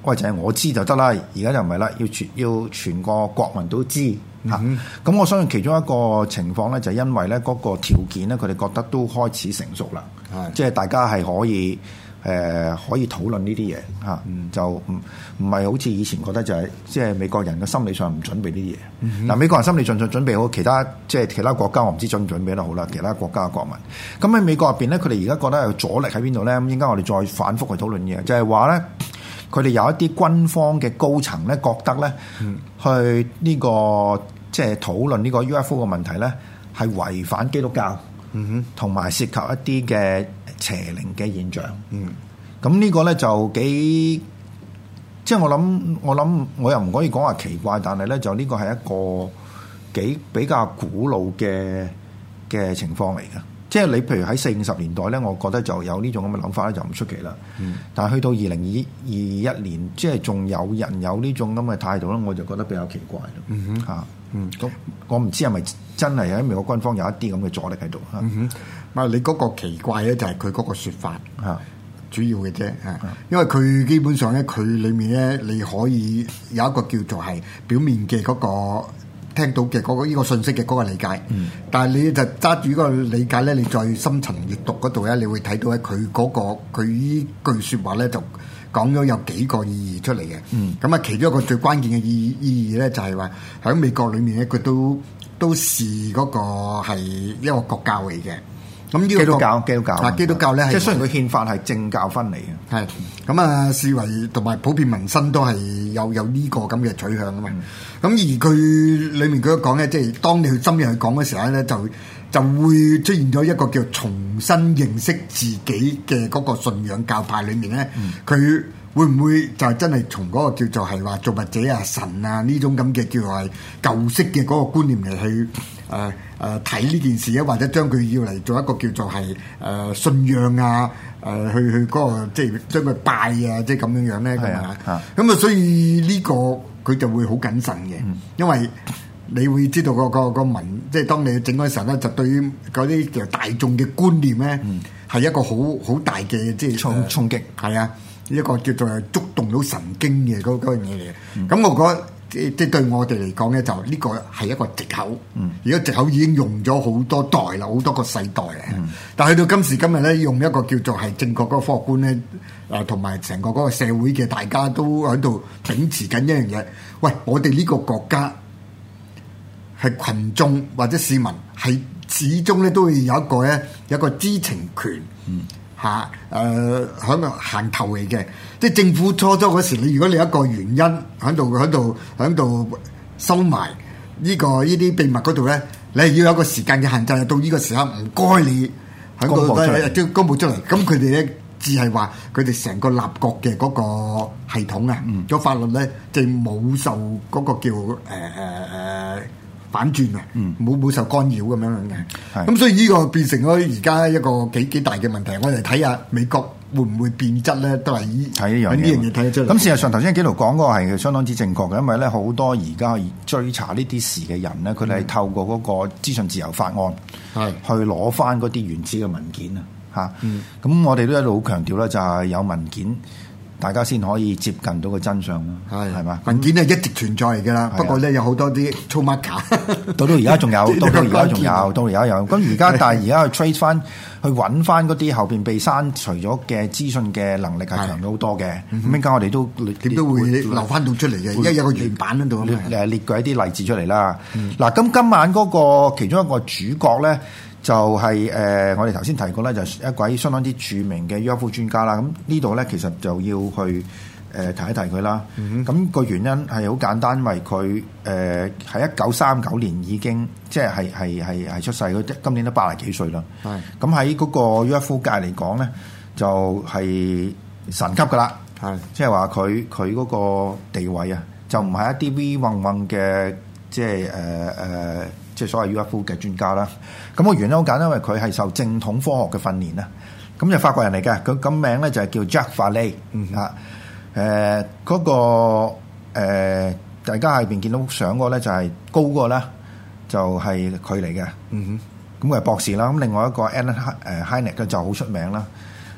喂，就係我知就得啦。而家就唔係啦，要全要全個國民都知嚇。咁、嗯啊、我相信其中一個情況咧，就係因為咧嗰個條件咧，佢哋覺得都開始成熟啦。係，即係大家係可以誒、呃、可以討論呢啲嘢嚇，嗯、就唔唔係好似以前覺得就係即係美國人嘅心理上唔準備呢啲嘢。嗱、嗯啊，美國人心理上準準備好，其他即係其他國家我唔知準唔準備得好啦。其他國家嘅國民，咁喺美國入邊咧，佢哋而家覺得有阻力喺邊度咧？咁應該我哋再反覆去討論嘢，就係話咧。佢哋有一啲軍方嘅高層咧，覺得咧，嗯、去呢、這個即係討論呢個 U F O 嘅問題咧，係違反基督教，嗯哼，同埋涉及一啲嘅邪靈嘅現象。嗯，咁呢個咧就幾，即係我諗，我諗我又唔可以講話奇怪，但係咧就呢個係一個幾比較古老嘅嘅情況嚟嘅。即係你譬如喺四五十年代咧，我覺得就有呢種咁嘅諗法咧，就唔出奇啦。嗯、但係去到二零二二一年，即係仲有人有呢種咁嘅態度咧，我就覺得比較奇怪咯。嚇、嗯哼，嗯，咁我唔知係咪真係喺美國軍方有一啲咁嘅阻力喺度嚇。 嗯哼，啊，你嗰個奇怪咧就係佢嗰個説法嚇，主要嘅啫嚇。因為佢基本上咧，佢裡面咧你可以有一個叫做係表面嘅嗰個。聽到嘅嗰個呢個信息嘅嗰個理解，嗯、但係你就揸住呢個理解咧，你再深層閱讀嗰度咧，你會睇到咧佢嗰個佢呢句説話咧就講咗有幾個意義出嚟嘅。咁啊、嗯，其中一個最關鍵嘅意意義咧就係話喺美國裏面咧，佢都都視嗰個係一個國教嚟嘅。咁呢個基督教，基督教啊，基督教咧， 即係雖然佢憲法係政教分離嘅， 係咁啊，視為同埋普遍民生都係有有呢個咁嘅取向啊嘛。咁、嗯、而佢裡面佢都講咧，即係當你去深入去講嘅時候咧，就就會出現咗一個叫重新認識自己嘅嗰個信仰教派裡面咧，佢、嗯、會唔會就係真係從嗰個叫做係話造物者啊、神啊呢種咁嘅叫做係舊式嘅嗰個觀念嚟去誒誒睇呢件事咧，或者將佢要嚟做一個叫做係誒、呃、信仰啊誒、呃、去去嗰、那個即係將佢拜啊，即係咁樣樣咧咁啊，咁啊所以呢個佢就會好謹慎嘅，嗯、因為你會知道、那個個個民即係當你整嗰陣時候咧，就對於嗰啲叫大眾嘅觀念咧係、嗯、一個好好大嘅即係衝衝擊，係啊，一個叫做觸動到神經嘅嗰嗰樣嘢嚟嘅，咁、嗯、我覺得。即即對我哋嚟講咧，就呢個係一個藉口。嗯，而家藉口已經用咗好多代啦，好多個世代啊。嗯、但係去到今時今日咧，用一個叫做係正確嗰個科學觀咧，誒同埋成個嗰個社會嘅大家都喺度秉持緊一樣嘢。喂，我哋呢個國家係群眾或者市民，係始終咧都會有一個咧有一個知情權。嗯。嚇誒喺度行頭嚟嘅，即係政府初初嗰時，你如果你有一個原因喺度喺度喺度收埋呢個呢啲秘密嗰度咧，你係要有一個時間嘅限制，到呢個時刻唔該你喺度都公佈出嚟。咁佢哋咧只係話佢哋成個立國嘅嗰個系統啊，個、嗯、法律咧就冇受嗰個叫誒誒誒。呃呃反轉啊！冇冇、嗯、受干擾咁樣樣嘅，咁是所以呢個變成咗而家一個幾幾大嘅問題。我哋睇下美國會唔會變質咧，都係依睇呢樣嘢睇得出嚟。咁事實上頭先紀陶講嗰個係相當之正確嘅，因為咧好多而家追查呢啲事嘅人咧，佢哋係透過嗰個資訊自由法案係、嗯、去攞翻嗰啲原始嘅文件啊嚇。咁、嗯、我哋都一路好強調咧，就係有文件。大家先可以接近到個真相咯，係係嘛？文件係一直存在嚟㗎啦，不過咧有好多啲粗 marker， 到到而家仲有，到到而家仲有，到而家有。咁而家但係而家去 trace 翻，去揾翻嗰啲後邊被刪除咗嘅資訊嘅能力係強咗好多嘅。咁而家我哋都點都會留翻到出嚟嘅，而家有個原版喺度， 誒列舉一啲例子出嚟啦。嗱，咁今晚嗰個其中一個主角咧。就係、是、誒、呃，我哋頭先提過咧，就係一位相當之著名嘅 U F O 專家啦。咁呢度咧，其實就要去誒、呃、提一提佢啦。咁、嗯、哼個原因係好簡單，因為佢誒喺一九三九年已經即係係係係係出世，佢今年都八十幾歲啦。係咁喺嗰個 U F O 界嚟講咧，就係、是、神級噶啦。係即係話佢佢嗰個地位啊，就唔係一啲 V 混混嘅，即係誒誒。呃即係所謂 U F O 嘅專家啦，咁個原因好簡單，因為佢係受正統科學嘅訓練啦，咁就法國人嚟嘅，佢咁名咧就係叫 Jacques Vallée 啊，誒嗰個誒大家喺邊見到相嗰個咧就係高嗰個啦，就係佢嚟嘅，嗯哼，咁佢係博士啦，咁另外一個 Alan 誒 Hynek 咧就好出名啦，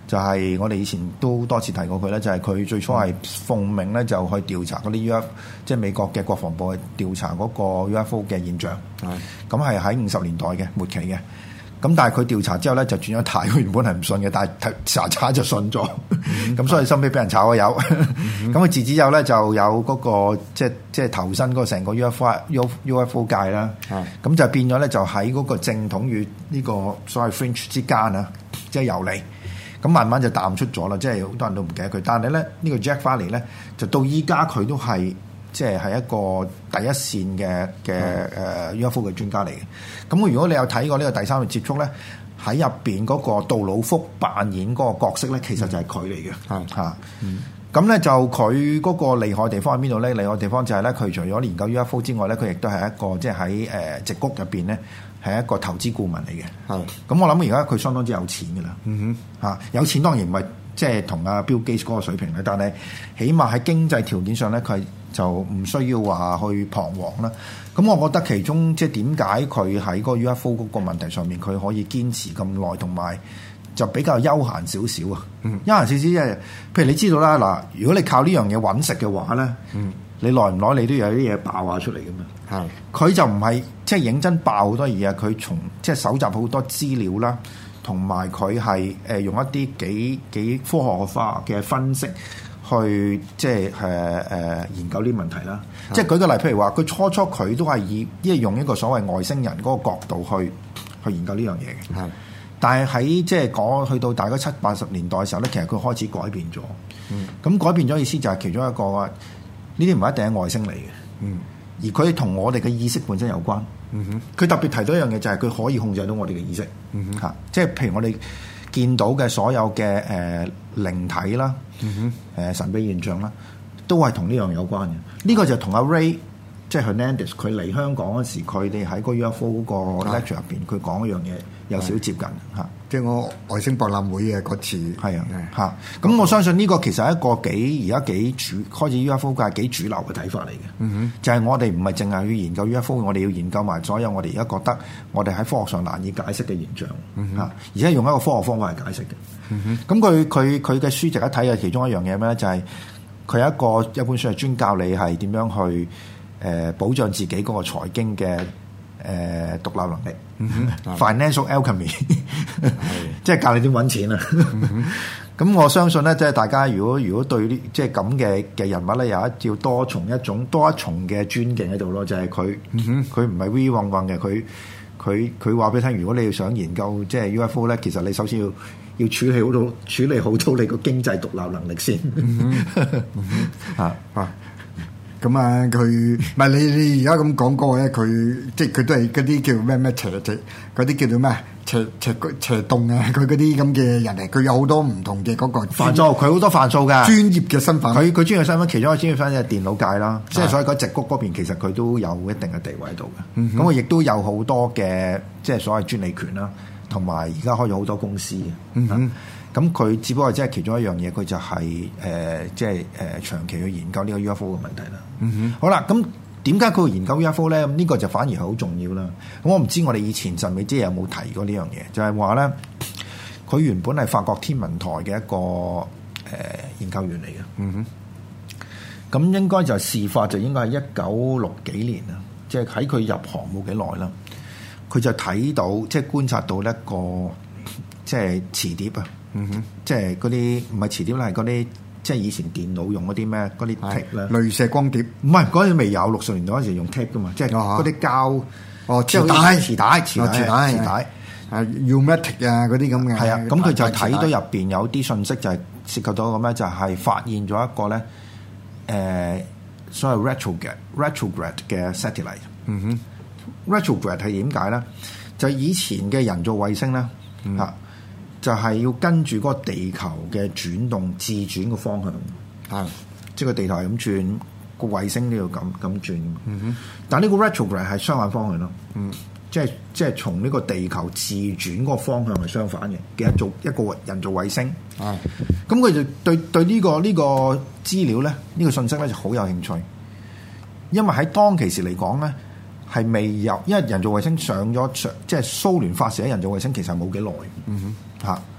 就係我哋以前都多次提過佢咧，就係、是、佢最初係奉命咧就去調查嗰啲 U F O，即係美國嘅國防部去調查嗰個 U F O 嘅現象。係咁係喺五十年代嘅末期嘅。咁但係佢調查之後咧就轉咗態，佢原本係唔信嘅，但係查查就信咗。咁、嗯、所以收尾俾人炒咗魷。咁佢自此之後咧就有嗰、那個即係即係投身嗰個成個 U F O U F O 界啦。咁、嗯、就變咗咧就喺嗰個正統與呢個所謂 fringe 之間啊，即係遊離。咁慢慢就淡出咗啦，即係好多人都唔記得佢。但係咧呢、這個 Jack Foley 咧就到依家佢都係。即係係一個第一線嘅嘅誒 U F O 嘅專家嚟嘅。咁如果你有睇過呢個第三類接觸咧，喺入邊嗰個杜魯福扮演嗰個角色咧，其實就係佢嚟嘅。係嚇、嗯。咁咧、嗯、就佢嗰個厲害地方喺邊度咧？厲害地方就係咧，佢除咗研究 U F O 之外咧，佢亦都係一個即係喺誒矽谷入邊咧，係一個投資顧問嚟嘅。係。咁我諗而家佢相當之有錢㗎啦。嗯哼。嚇，有錢當然唔係即係同阿 Bill Gates 嗰個水平咧，但係起碼喺經濟條件上咧，佢係。就唔需要話去彷徨啦。咁我覺得其中即係點解佢喺個 U F O 嗰個問題上面，佢可以堅持咁耐，同埋就比較悠閒少少啊。嗯，悠閒少少即係，譬如你知道啦，嗱，如果你靠呢樣嘢揾食嘅話咧，嗯，你耐唔耐你都有啲嘢爆下出嚟㗎嘛。係，佢就唔係即係認真爆好多嘢，佢從即係搜集好多資料啦，同埋佢係誒用一啲幾幾科學化嘅分析。去即係誒誒研究呢啲問題啦，是即係舉個例，譬如話佢初初佢都係以即係用一個所謂外星人嗰個角度去去研究呢樣嘢嘅，係是。但係喺即係講去到大概七八十年代嘅時候咧，其實佢開始改變咗。嗯。咁改變咗意思就係其中一個話，呢啲唔係一定係外星嚟嘅。嗯。而佢同我哋嘅意識本身有關。嗯哼。佢特別提到一樣嘢就係佢可以控制到我哋嘅意識。嗯哼。嚇！即係譬如我哋見到嘅所有嘅誒、呃、靈體啦。嗯哼，誒、呃、神秘現象啦，都係同呢樣有關嘅。呢、這個就同阿 Ray 即係 Hernandez 佢嚟香港嗰時，佢哋喺個 U F O 個 lecture 入邊，佢講一樣嘢有少接近嚇。即係我外星博覽會嘅嗰次，係啊嚇。咁我相信呢個其實係一個幾而家幾主開始 U F O 界幾主流嘅睇法嚟嘅。嗯哼，就係我哋唔係淨係要研究 U F O， 我哋要研究埋所有我哋而家覺得我哋喺科學上難以解釋嘅現象嚇，嗯、哼而且用一個科學方法嚟解釋嘅。咁佢佢佢嘅書籍一睇嘅其中一樣嘢咩咧？就係、是、佢有一個一本書係專教你係點樣去誒、呃、保障自己嗰個財經嘅誒、呃、獨立能力。嗯、哼 Financial Alchemy，即係教你點揾錢啊！咁、嗯、哼我相信咧，即係大家如果如果對呢即係咁嘅嘅人物咧，有一要多重一種多一重嘅尊敬喺度咯，就係佢佢唔係 we 混混嘅，佢佢佢話俾你聽，如果你要想研究即係 U F O 咧，其實你首先要。要處理好到處理好到你個經濟獨立能力先，啊啊！咁啊，佢唔係你你而家咁講過咧，佢即係佢都係嗰啲叫咩咩邪邪嗰啲叫做咩邪邪邪洞啊！佢嗰啲咁嘅人嚟，佢有好多唔同嘅嗰個範疇，佢好多範疇㗎。專業嘅身份，佢佢專業身份，其中一個專業身份就係電腦界啦。即係所以嗰矽谷嗰邊其實佢都有一定嘅地位喺度嘅。咁佢亦都有好多嘅即係所謂專利權啦。同埋而家開咗好多公司嘅，咁佢、嗯、只不過即係其中一樣嘢，佢就係、是、誒、呃、即係誒、呃、長期去研究呢個 U F O 嘅問題啦。嗯、哼好啦，咁點解佢會研究 U F O 咧？咁呢個就反而係好重要啦。咁我唔知我哋以前神秘之夜有冇提過呢樣嘢，就係話咧，佢原本係法國天文台嘅一個誒、呃、研究員嚟嘅。嗯哼，咁應該就事發就應該係一九六幾年啦，即係喺佢入行冇幾耐啦。佢就睇到，即係觀察到一個即係磁碟啊，嗯哼，即係嗰啲唔係磁碟啦，係嗰啲即係以前電腦用嗰啲咩嗰啲 tape 咧，鐳射光碟，唔係嗰陣未有，六十年代嗰時用 tape 噶嘛，即係嗰啲膠哦磁帶、磁帶、磁帶、磁帶，啊 U-matic 啊嗰啲咁嘅，係啊，咁佢就睇到入邊有啲信息就係涉及到咁咧，就係發現咗一個咧誒所謂 retrograde retrograde 嘅 satellite，嗯哼。Retrograde 係點解咧？就係、以前嘅人造衛星咧，嚇、嗯、就係、係、要跟住嗰個地球嘅轉動自轉嘅方向，係、嗯、即係個地球係咁轉，個衛星都要咁咁轉。嗯、哼但係呢個 retrograde 係相反方向咯，嗯，即係即係從呢個地球自轉嗰個方向係相反嘅嘅一做一個人造衛星。係咁佢就對對呢、呢個呢、呢個資料咧，呢、呢個信息咧就好有興趣，因為喺當其時嚟講咧。係未有，因為人造衛星上咗上，即係蘇聯發射嘅人造衛星其實冇幾耐，嗯哼嚇。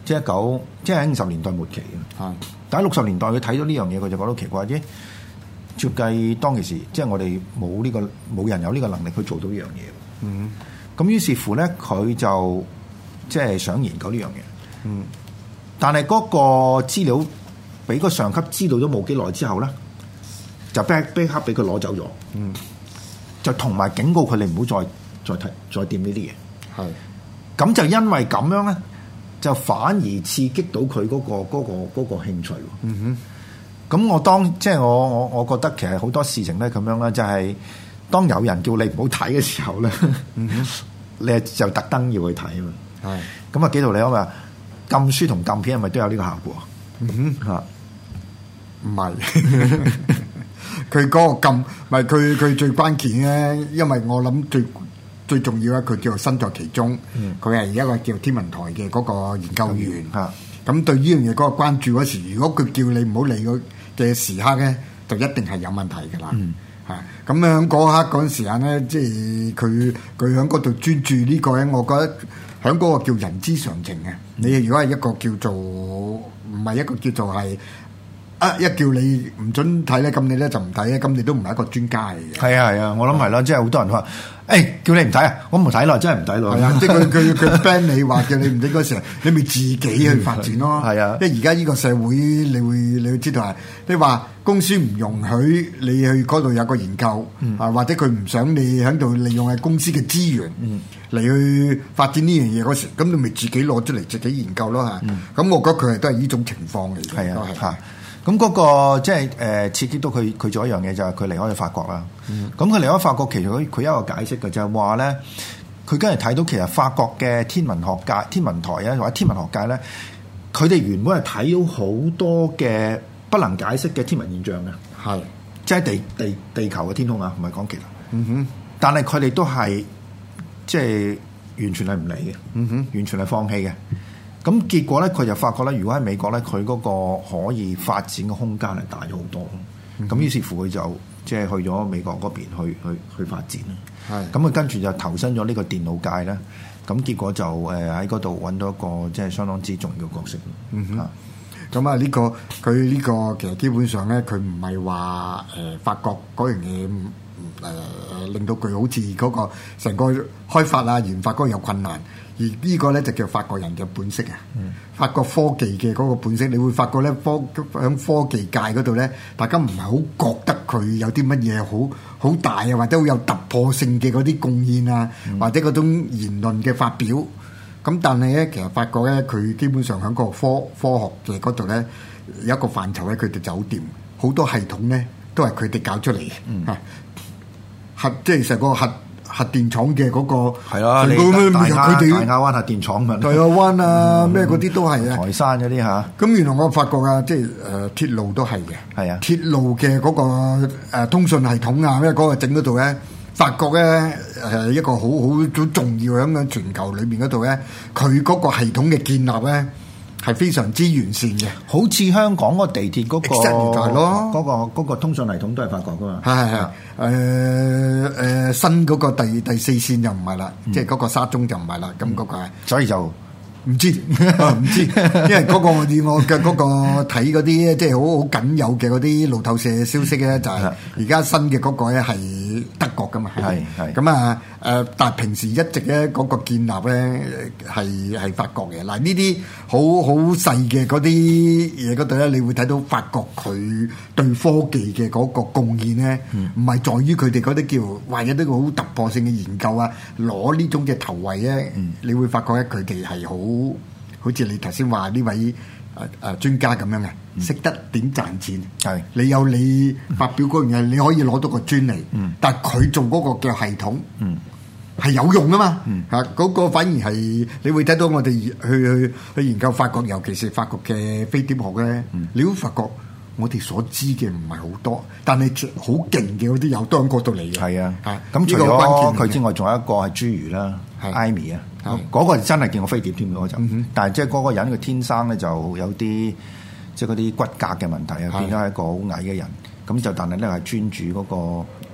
即係九，即係喺五十年代末期嘅。係，但喺六十年代佢睇到呢樣嘢，佢就覺得奇怪啫。照計當其時，即係我哋冇呢個冇人有呢個能力去做到呢樣嘢。嗯，咁於是乎咧，佢就即係想研究呢樣嘢。嗯，但係嗰個資料俾個上級知道咗冇幾耐之後咧，就即刻俾佢攞走咗。嗯，就同埋警告佢哋唔好再再睇再掂呢啲嘢。係，咁就因為咁樣咧，就反而刺激到佢嗰個嗰個嗰個興趣。嗯哼。咁我當即係我我我覺得其實好多事情咧咁樣啦，就係、是、當有人叫你唔好睇嘅時候咧，嗯、哼你就特登要去睇啊嘛。係咁啊，紀陶你講話禁書同禁片係咪都有呢個效果？嗯哼嚇，唔係佢嗰個禁，唔係佢佢最關鍵咧，因為我諗最最重要咧，佢叫做身在其中，佢係、嗯、一個叫天文台嘅嗰個研究員嚇。咁、嗯、對呢樣嘢嗰個關注嗰時，如果佢叫你唔好理佢嘅時刻咧，就一定係有問題㗎啦。嚇咁樣嗰刻嗰陣時間咧，即係佢佢喺嗰度專注呢個咧，我覺得喺嗰個叫人之常情嘅。你如果係一個叫做唔係一個叫做係啊一叫你唔準睇咧，咁你咧就唔睇咧，咁你都唔係一個專家嚟嘅。係啊係啊，我諗係啦，即係好多人話。誒、欸、叫你唔睇啊！我唔睇咯，真係唔睇咯。係啊，即係佢佢佢 ban 你話叫你唔睇嗰時候，你咪自己去發展咯。係啊，因為而家呢個社會，你會你會知道係，你話公司唔容許你去嗰度有個研究、嗯、啊，或者佢唔想你喺度利用係公司嘅資源嚟去發展呢樣嘢嗰時，咁你咪自己攞出嚟自己研究咯嚇。咁、嗯、我覺得佢係都係呢種情況嚟嘅。係啊，嚇。咁嗰個即係誒刺激到佢，佢做一樣嘢就係佢離開咗法國啦。咁佢、嗯、離開法國，其實佢佢有一個解釋嘅，就係話咧，佢跟住睇到其實法國嘅天文學界、天文台啊或者天文學界咧，佢哋原本係睇到好多嘅不能解釋嘅天文現象嘅，係即係地地地球嘅天空啊，唔係講其他。嗯哼，但係佢哋都係即係完全係唔理嘅。嗯哼，完全係放棄嘅。咁結果咧，佢就發覺咧，如果喺美國咧，佢嗰個可以發展嘅空間係大咗好多。咁、嗯、於是乎佢就即係去咗美國嗰邊去去去發展啦。係咁佢跟住就投身咗呢個電腦界咧。咁結果就誒喺嗰度揾到一個即係相當之重要嘅角色。嗯哼。咁啊呢個佢呢個其實基本上咧，佢唔係話誒法國嗰樣嘢誒令到佢好似嗰個成個開發啊研發嗰個有困難。而呢個咧就叫法國人嘅本色啊！嗯、法國科技嘅嗰個本色，你會發覺咧科喺科技界嗰度咧，大家唔係好覺得佢有啲乜嘢好好大啊，或者好有突破性嘅嗰啲貢獻啊，嗯、或者嗰種言論嘅發表。咁但係咧，其實法國咧，佢基本上喺個科科學嘅嗰度咧，有一個範疇咧，佢哋走掂，好多系統咧都係佢哋搞出嚟嘅。嗯、核即係成個核。核電廠嘅嗰、那個係啦，你大亞大亞灣核電廠嘛，大亞灣啊咩嗰啲都係啊，台山嗰啲嚇。咁原來我發覺啊，即係誒、呃、鐵路都係嘅，係啊，鐵路嘅嗰、那個、呃、通訊系統啊，咩嗰個整嗰度咧，法國咧係一個好好好重要喺個全球裏邊嗰度咧，佢嗰個系統嘅建立咧。係非常之完善嘅，好似香港嗰個地鐵嗰、嗰個咯，嗰、嗰個嗰個通訊系統都係法國噶嘛。係係係，誒誒新嗰個第第四線就唔係啦，嗯、即係嗰個沙中就唔係啦，咁嗰、嗯、個係，所以就唔知唔知，因為嗰個我以我嘅嗰個睇嗰啲即係好好僅有嘅嗰啲路透社消息咧，就係而家新嘅嗰個咧係德國噶嘛，係係咁啊誒，但係平時一直咧嗰個建立咧係係法國嘅。嗱呢啲好好細嘅嗰啲嘢嗰度咧，你會睇到法國佢對科技嘅嗰個貢獻咧，唔係、嗯、在於佢哋嗰啲叫或者呢個好突破性嘅研究啊，攞呢種嘅頭位咧，嗯、你會發覺咧佢哋係好。好似你頭先話呢位誒誒專家咁樣嘅，識、嗯、得點賺錢。係是你有你發表嗰樣嘢，你可以攞到個專利。嗯，但係佢做嗰個嘅系統，嗯，係有用啊嘛。嗯，嚇嗰、那個反而係你會睇到我哋去去去研究法國，尤其是法國嘅飛碟學咧。嗯、你會發覺我哋所知嘅唔係好多，但係好勁嘅嗰啲有都喺嗰度嚟嘅。係啊，嚇咁除咗佢之外，仲有一個係侏儒啦，艾米啊。嗰個真係見過飛碟添嗰就，嗯、哼但係即係嗰個人佢天生咧就有啲即係嗰啲骨骼嘅問題啊，變咗係一個好矮嘅人。咁就但係咧係專注嗰個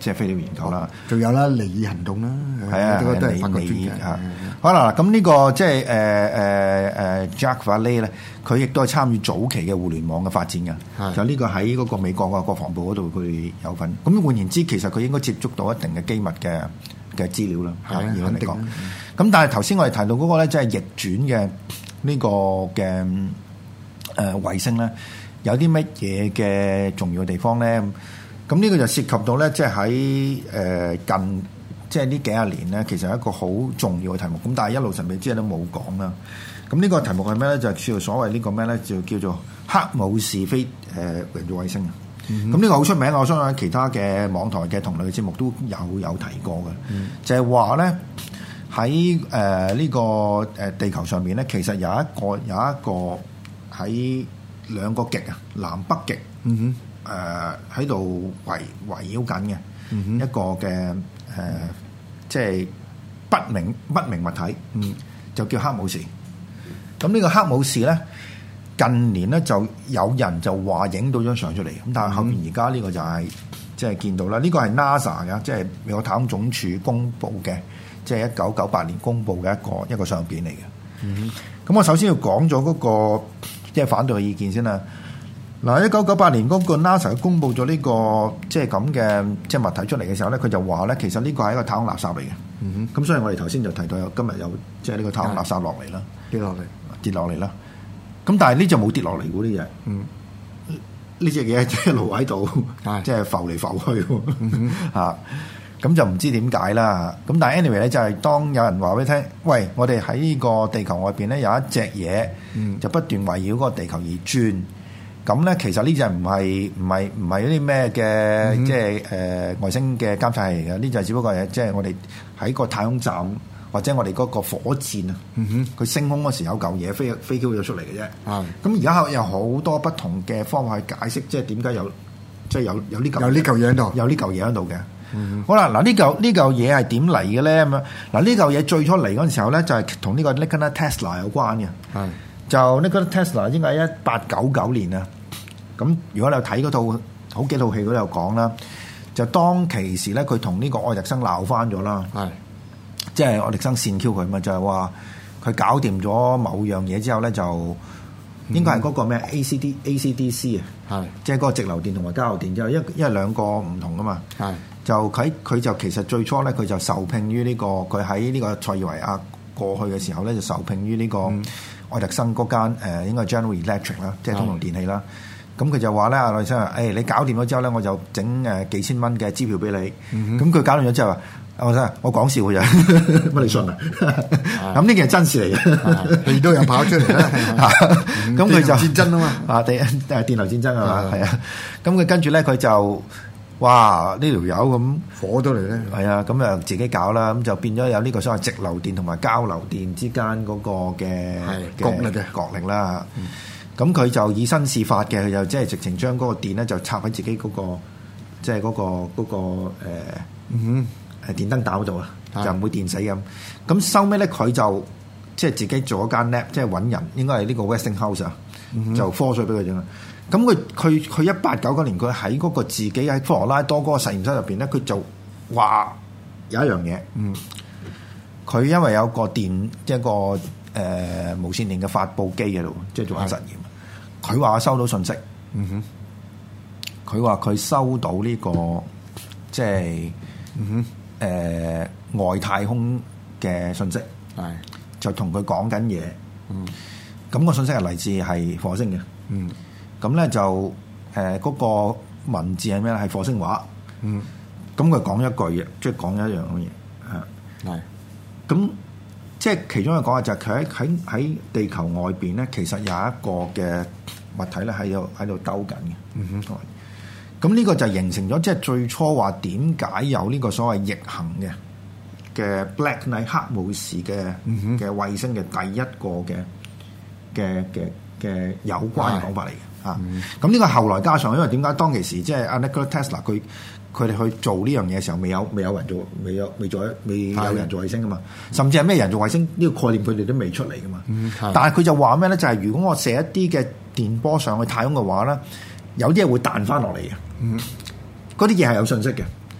即係飛碟研究啦。 仲有啦，尼爾行動啦， 係啊， 都都係法國尼專家。 爾啊，好啦，咁呢個即係誒誒誒 Jacques Vallée 咧，佢亦都係參與早期嘅互聯網嘅發展嘅。就呢個喺嗰個美國嘅國防部嗰度，佢有份。咁換言之，其實佢應該接觸到一定嘅機密嘅嘅資料啦。係啊，肯定。咁但係頭先我哋提到嗰個咧，即係逆轉嘅呢個嘅誒衛星咧，有啲乜嘢嘅重要嘅地方咧？咁呢個就涉及到咧，即係喺誒近即係呢幾廿年咧，其實係一個好重要嘅題目。咁但係一路神秘之夜都冇講啦。咁呢個題目係咩咧？就係叫做所謂呢個咩咧？就叫做黑武士飛誒人造衛星啊。咁呢個好出名，我相信其他嘅網台嘅同類嘅節目都有有提過嘅，嗯、就係話咧喺誒呢個誒地球上面咧，其實有一個有一個喺兩個極啊，南北極，誒喺度圍圍繞緊嘅、嗯、哼一個嘅誒、呃，即係不明不明物體，嗯、就叫黑武士。咁呢個黑武士咧。近年咧就有人就話影到張相出嚟，咁但係後面而家呢個就係即係見到啦。呢、這個係 NASA 嘅，即係美國太空總署公布嘅，即係一九九八年公布嘅一個一個相片嚟嘅。咁、嗯、哼我首先要講咗嗰個即係反對嘅意見先啦。嗱，一九九八年嗰個 NASA 公布咗呢、這個即係咁嘅即係物體出嚟嘅時候咧，佢就話咧其實呢個係一個太空垃圾嚟嘅。咁、嗯、哼所以我哋頭先就提到有今日有即係呢個太空垃圾落嚟啦，跌落嚟，跌落嚟啦。咁但係呢就冇跌落嚟嗰啲嘢，呢隻嘢即係一路喺度，即係浮嚟浮去，嚇咁、嗯啊、就唔知點解啦。咁但係 anyway 咧，就係當有人話俾你聽，喂，我哋喺呢個地球外邊咧有一隻嘢，嗯、就不斷圍繞嗰個地球而轉。咁咧其實呢隻唔係唔係唔係啲咩嘅，即係誒外星嘅監察器嚟嘅。呢就只不過係即係我哋喺個太空站。或者我哋嗰個火箭啊，佢、嗯、哼升空嗰時有嚿嘢飛飛飄咗出嚟嘅啫。咁而家有好多不同嘅方法去解釋，即係點解有即係有有呢嚿有呢嚿嘢喺度， 有呢嚿嘢喺度嘅。嗯、哼好啦，嗱呢嚿呢嚿嘢係點嚟嘅咧？咁樣嗱呢嚿嘢最初嚟嗰陣時候咧，就係同呢個 Nikola Tesla 有關嘅。係是就 Nikola Tesla 應該係一八九九年啊。咁如果你有睇嗰套好幾套戲，都有講啦。就當其時咧，佢同呢個愛迪生鬧翻咗啦。係。即係愛迪生線 Q 佢嘛，就係話佢搞掂咗某樣嘢之後咧，就應該係嗰個咩 A C D A C D C 啊，係即係嗰個直流電同埋交流電之後，因為因為兩個唔同噶嘛，係就佢佢就其實最初咧佢就受聘於呢個佢喺呢個塞爾維亞過去嘅時候咧就受聘於呢個愛迪生嗰間誒應該係 General Electric 啦，即係通用電器啦。咁佢就話咧，愛迪生話：誒你搞掂咗之後咧，我就整誒幾千蚊嘅支票俾你。咁佢搞掂咗之後話。我真係我講笑嘅啫，乜你信啊？咁呢件係真事嚟嘅，亦都有跑出嚟啦。咁佢就戰爭啊嘛，啊電誒電流戰爭係嘛，係啊。咁佢跟住咧，佢就哇呢條友咁火到嚟咧，係啊。咁啊自己搞啦，咁就變咗有呢個所謂直流電同埋交流電之間嗰個嘅角力嘅角力啦。咁佢就以身試法嘅，佢就即係直情將嗰個電咧就插喺自己嗰個即係嗰個嗰個誒嗯。係電燈膽度啊，就唔會電死咁。咁收尾咧，佢就即係自己做一間 lab，即係揾人，應該係呢個 Westinghouse 啊、嗯，就科水俾佢整啦。咁佢佢佢一八九九年，佢喺嗰個自己喺科羅拉多嗰個實驗室入邊咧，佢就話有一樣嘢，嗯，佢因為有個電一個誒、呃、無線電嘅發佈機喺度，即係做緊實驗。佢話收到信息，嗯哼，佢話佢收到呢、這個即係嗯哼。誒、呃、外太空嘅信息，係是就同佢講緊嘢，嗯，咁個信息係嚟自係火星嘅，嗯，咁咧就誒嗰、呃那個文字係咩咧？係火星話，嗯，咁佢講一句嘢，即係講一樣嘅嘢，係係，咁即係其中一個講法就係佢喺喺喺地球外邊咧，其實有一個嘅物體咧喺度喺度兜緊嘅，嗯哼。咁呢個就形成咗，即係最初話點解有呢個所謂逆行嘅嘅 Black Knight 黑武士嘅嘅衛星嘅第一個嘅嘅嘅嘅有關嘅講法嚟嘅嚇。咁呢、嗯啊、個後來加上，因為點解當其時即係阿 Nikola Tesla 佢佢哋去做呢樣嘢嘅時候，未有未有人做，未有未做未有人做衛星噶嘛，的甚至係咩人做衛星呢、這個概念佢哋都未出嚟噶嘛。嗯、但係佢就話咩咧？就係、是、如果我射一啲嘅電波上去太空嘅話咧，有啲嘢會彈翻落嚟嘅。嗯，嗰啲嘢係有信息嘅，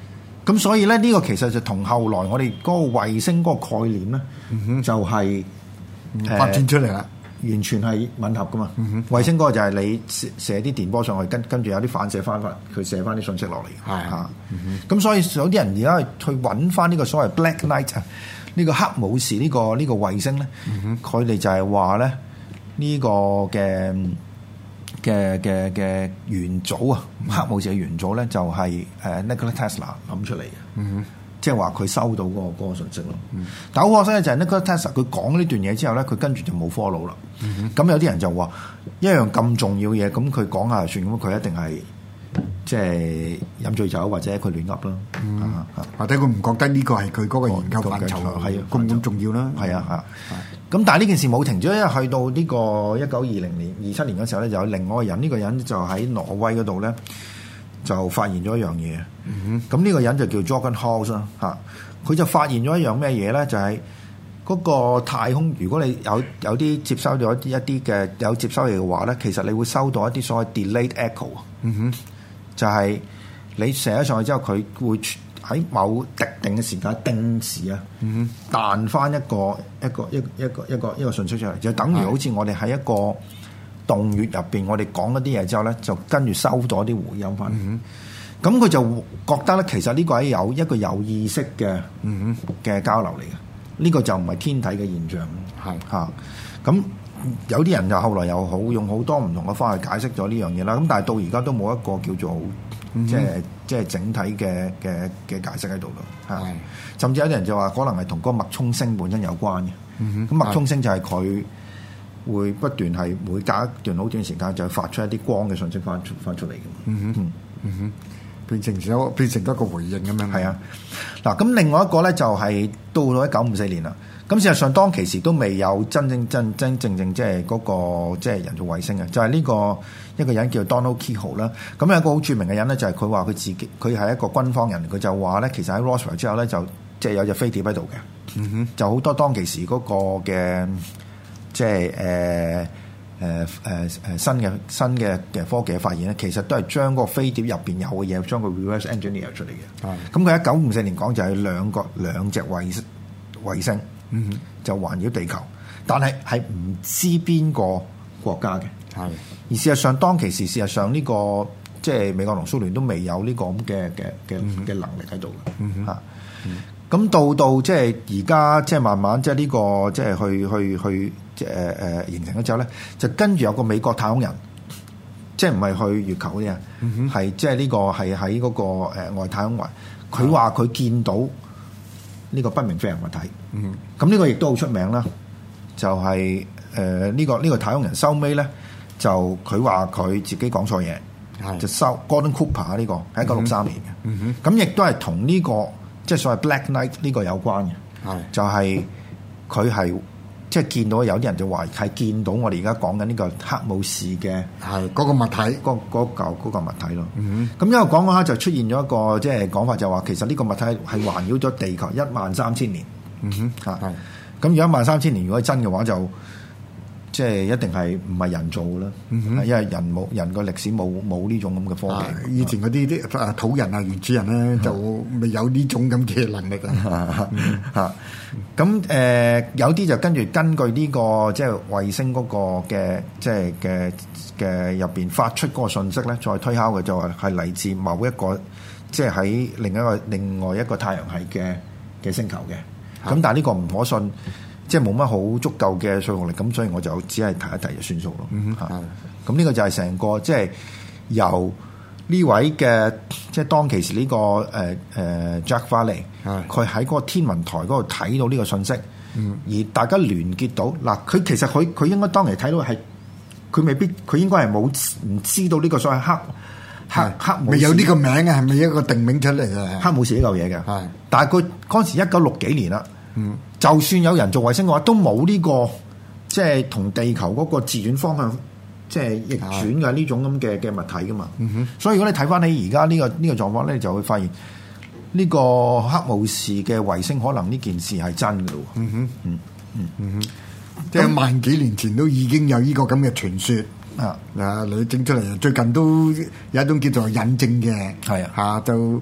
咁所以咧，呢、這個其實就同後來我哋嗰個衛星嗰個概念咧，嗯、就係、是嗯呃、發展出嚟啦， 完全係吻合噶嘛。嗯、衛星嗰個就係你射射啲電波上去，跟跟住有啲反射翻翻，佢射翻啲信息落嚟。係嚇，咁所以有啲人而家去揾翻呢個所謂 Black Knight 啊，呢個黑武士呢、這個呢、這個衛星咧，佢哋、嗯、就係話咧呢個嘅。嘅嘅嘅元祖啊，黑武士嘅元祖咧就係誒 Nikola Tesla 諗出嚟嘅，嗯、即係話佢收到嗰、嗰個嗰個信息咯。嗯、但好可惜咧，就係 Nikola Tesla 佢講呢段嘢之後咧，佢跟住就冇 follow 啦。咁、嗯、有啲人就話一樣咁重要嘢，咁佢講下就算，咁佢一定係即係飲醉酒或者佢亂噏咯， 嗯啊、或者佢唔覺得呢個係佢嗰個研究範疇係咁咁重要啦。係啊嚇。咁但係呢件事冇停咗，因為去到呢個一九二零年、二七年嗰時候咧，就有另外一個人，呢、呢個人就喺挪威嗰度咧，就發現咗一樣嘢。咁呢、嗯、哼個人就叫 Jorgen Haus 啦，嚇，佢就發現咗一樣咩嘢咧？就係、是、嗰個太空，如果你有有啲接收咗一啲嘅有接收器嘅話咧，其實你會收到一啲所謂 delayed echo。嗯哼，就係你射咗上去之後，佢會喺某特定嘅時間定時啊，嗯、彈翻一個一個一一個一個一個信息出嚟，就等於好似我哋喺一個洞穴入邊，我哋講一啲嘢之後咧，就跟住收咗啲回音翻。咁佢、嗯、就覺得咧，其實呢個係有一個有意識嘅嘅、嗯、交流嚟嘅，呢、這個就唔係天體嘅現象。係嚇是，咁、啊、有啲人就後來又好用好多唔同嘅方法去解釋咗呢樣嘢啦。咁但係到而家都冇一個叫做即係即係整體嘅嘅嘅解釋喺度咯，係的甚至有啲人就話可能係同嗰個脈衝星本身有關嘅。咁、嗯、哼脈衝星就係佢會不斷係每隔一段好短時間就發出一啲光嘅信息翻出翻出嚟嘅。嗯哼，嗯嗯哼，變成咗變成一個回應咁樣。係啊，嗱咁另外一個咧就係到咗一九五四年啦。咁事實上當其時都未有真正真真正正即係嗰個即係人造衛星嘅，就係、是、呢、這個一個人叫 Donald Keyhoe 啦。咁有一個好著名嘅人咧，就係佢話佢自己佢係一個軍方人，佢就話咧其實喺 Roswell 之後咧就即係有隻飛碟喺度嘅。嗯哼，就好多當其時嗰個嘅即係誒誒誒誒新嘅新嘅嘅科技嘅發現咧，其實都係將個飛碟入邊有嘅嘢將個 reverse engineer 出嚟嘅。係、嗯。咁佢一九五四年講就係兩個兩隻衛衛星。嗯，就環繞地球，但係係唔知邊個國家嘅，係的。而事實上，當其時，事實上呢、這個即係美國同蘇聯都未有呢個咁嘅嘅嘅嘅能力喺度嘅，嗯嚇。咁到到即係而家，即係慢慢即係呢個即係去去去即係誒誒形成咗之後咧，就跟住有個美國太空人，即係唔係去月球嗰啲啊，係、嗯、哼即係呢個係喺嗰個誒外太空環，佢話佢見到呢個不明飛行物體，嗯，咁呢個亦都好出名啦。就係誒呢個呢、呢個太空人收尾咧，就佢話佢自己講錯嘢，係就收 Gordon Cooper 呢個係一九六三年嘅，嗯哼，咁亦都係同呢個即係所謂 Black Knight 呢個有關嘅，係是就係佢係即係見到有啲人就話係見到我哋而家講緊呢個黑武士嘅係嗰個物體，嗰嗰嚿嗰個物體咯。嗯哼，咁因為講嗰下就出現咗一個即係講法，就話其實呢個物體係環繞咗地球一萬三千年。嗯哼，嚇係。咁如果一萬三千年如果係真嘅話，就即係一定係唔係人造嘅啦。嗯哼，因為人冇人個歷史冇冇呢種咁嘅科技。以前嗰啲啲啊土人啊原始人咧就未有呢種咁嘅能力啊。嚇咁誒有啲就跟住根據呢個即係衛星嗰個嘅即係嘅嘅入邊發出嗰個信息咧，再推敲嘅就係係嚟自某一個即係喺另一個另外一個太陽系嘅嘅星球嘅。咁但係呢個唔可信，即係冇乜好足夠嘅說服力，咁所以我就只係提一提就算數咯。嗯哼，咁呢個就係成個即係由呢位嘅即係當其時呢個誒誒 Jack Valley，佢喺嗰個天文台嗰度睇到呢個信息，嗯、而大家聯結到嗱，佢其實佢佢應該當其時睇到係佢未必佢應該係冇唔知道呢個所謂黑。黑黑未有呢個名嘅，係咪一個定名出嚟嘅？黑武士呢嚿嘢嘅，係是。但係佢嗰陣時一九六幾年啦，嗯，就算有人造衛星嘅話，都冇呢、這個即係同地球嗰個自轉方向即係逆轉嘅呢種咁嘅嘅物體噶嘛。嗯、哼所以如果你睇翻你而家呢個呢、這個狀況咧，你就會發現呢個黑武士嘅衛星可能呢件事係真嘅喎。嗯哼，嗯嗯嗯哼，即係萬幾年前都已經有呢個咁嘅傳說。啊！嗱，你整出嚟，最近都有一種叫做引證嘅，係啊，嚇就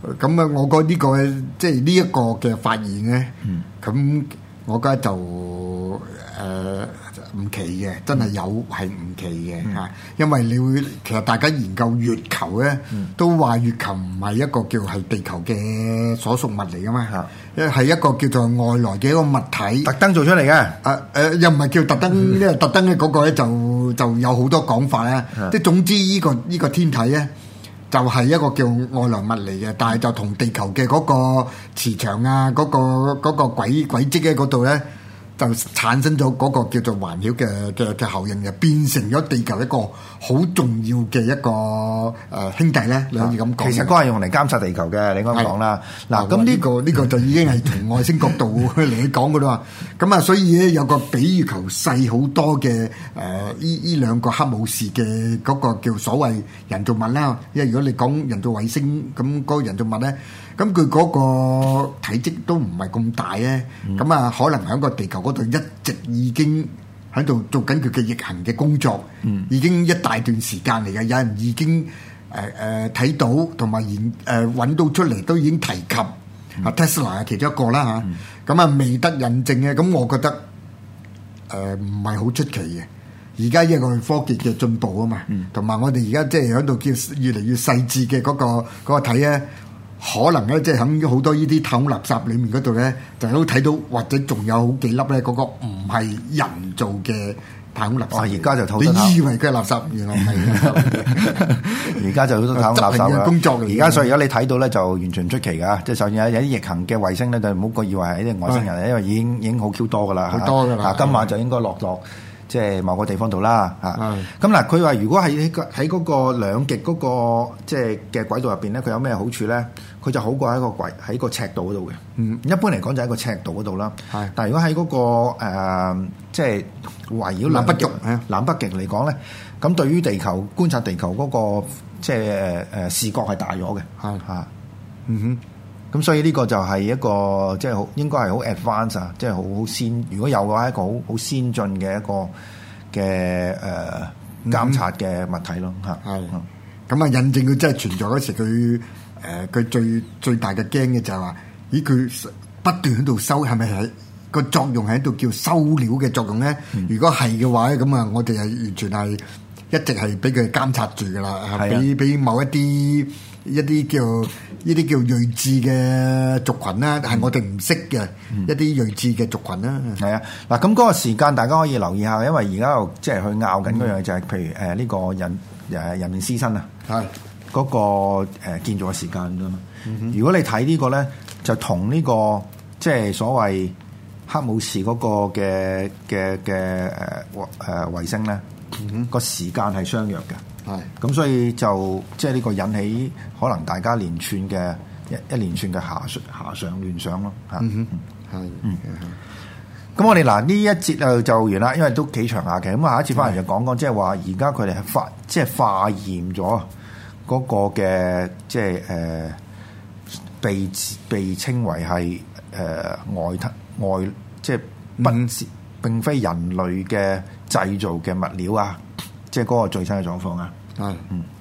咁啊，我覺得呢個即係呢一個嘅發現咧，咁、嗯、我覺得就誒唔、呃、奇嘅，真係有係唔奇嘅嚇，嗯、因為你會其實大家研究月球咧，嗯、都話月球唔係一個叫係地球嘅所屬物嚟噶嘛，因為係一個叫做外來嘅一個物體， 特登做出嚟嘅。誒誒、 呃，又唔係叫特登，因為特登嘅嗰個咧就就有好多講法啦。即係總之呢、這個呢、這個天體咧。就係一個叫外來物嚟嘅，但係就同地球嘅嗰個磁場啊，嗰、嗰個嗰、嗰個軌軌跡喺嗰度咧，就產生咗嗰個叫做環繞嘅嘅嘅效應嘅，變成咗地球一個好重要嘅一個誒、呃、兄弟咧，你可以咁講。 其實都係用嚟監察地球嘅，你咁講啦。嗱，咁呢、呢個呢、呢個就已經係從外星角度嚟講嘅啦。咁啊，所以咧有個比月球細好多嘅誒，依依兩個黑武士嘅嗰個叫所謂人造物啦。因為如果你講人造衛星，咁嗰個人造物咧。咁佢嗰個體積都唔係咁大咧，咁啊、嗯、可能喺個地球嗰度一直已經喺度做緊佢嘅逆行嘅工作，嗯、已經一大段時間嚟嘅，有人已經誒誒睇到同埋研誒揾到出嚟，都已經提及啊、嗯、Tesla 係其中一個啦嚇，咁啊、嗯、未得印證嘅，咁我覺得誒唔係好出奇嘅。而家一個科技嘅進步啊嘛，同埋、嗯、我哋而家即係喺度叫越嚟越細緻嘅嗰個嗰、嗰個睇咧。可能咧，即係喺好多呢啲太空垃圾裡面嗰度咧，就都睇到，或者仲有好幾粒咧，嗰個唔係人造嘅太空垃圾。而家就討你以為佢係垃圾，原來唔係。而家就好多太空垃圾啦。工作而家所以而家你睇到咧，就完全唔出奇㗎。即係首先有有啲逆行嘅衛星咧，就唔好個以為係啲外星人，因為已經已經好 Q 多㗎啦。好多㗎啦。今晚就應該落落。即係某個地方度啦，嚇咁嗱。佢話如果喺喺嗰個兩極嗰個即係嘅軌道入邊咧，佢有咩好處咧？佢就好過喺個軌喺個赤道嗰度嘅。嗯，一般嚟講就喺個赤道嗰度啦。係，但係如果喺嗰個誒即係圍繞南北極南北極嚟講咧，咁對於地球觀察地球嗰個即係誒誒視覺係大咗嘅。係嚇，嗯哼。咁所以呢個就係一個即係好應該係好 advanced 啊，即係好好先。如果有嘅話，一個好好先進嘅一個嘅誒、呃、監察嘅物體咯嚇。係咁啊，印證佢真係存在嗰時，佢誒佢最最大嘅驚嘅就係話，咦佢不斷喺度收，係咪係個作用喺度叫收料嘅作用咧？嗯、如果係嘅話咧，咁啊，我哋係完全係一直係俾佢監察住噶啦，係俾俾某一啲。一啲叫呢啲叫睿智嘅族群啦，係我哋唔識嘅一啲睿智嘅族群啦。係啊，嗱咁嗰個時間大家可以留意下，因為而家又即係去拗緊嗰樣就係，譬如誒呢個人誒人面獅身啊，係嗰個誒建造嘅時間啫嘛。如果你睇呢個咧，就同呢個即係所謂黑武士嗰個嘅嘅嘅誒誒衛星咧，個時間係相若嘅。係，咁所以就即係呢個引起可能大家連串嘅一一連串嘅遐遐想亂想咯嚇。嗯哼，係，嗯，咁我哋嗱呢一節就就完啦，因為都幾長下嘅。咁下一節翻嚟就講講，即係話而家佢哋係化即係化驗咗嗰個嘅即係誒、呃、被被稱為係誒、呃、外外即係不、嗯、並非人類嘅製造嘅物料啊。即係嗰個最新嘅狀況啊！係，嗯。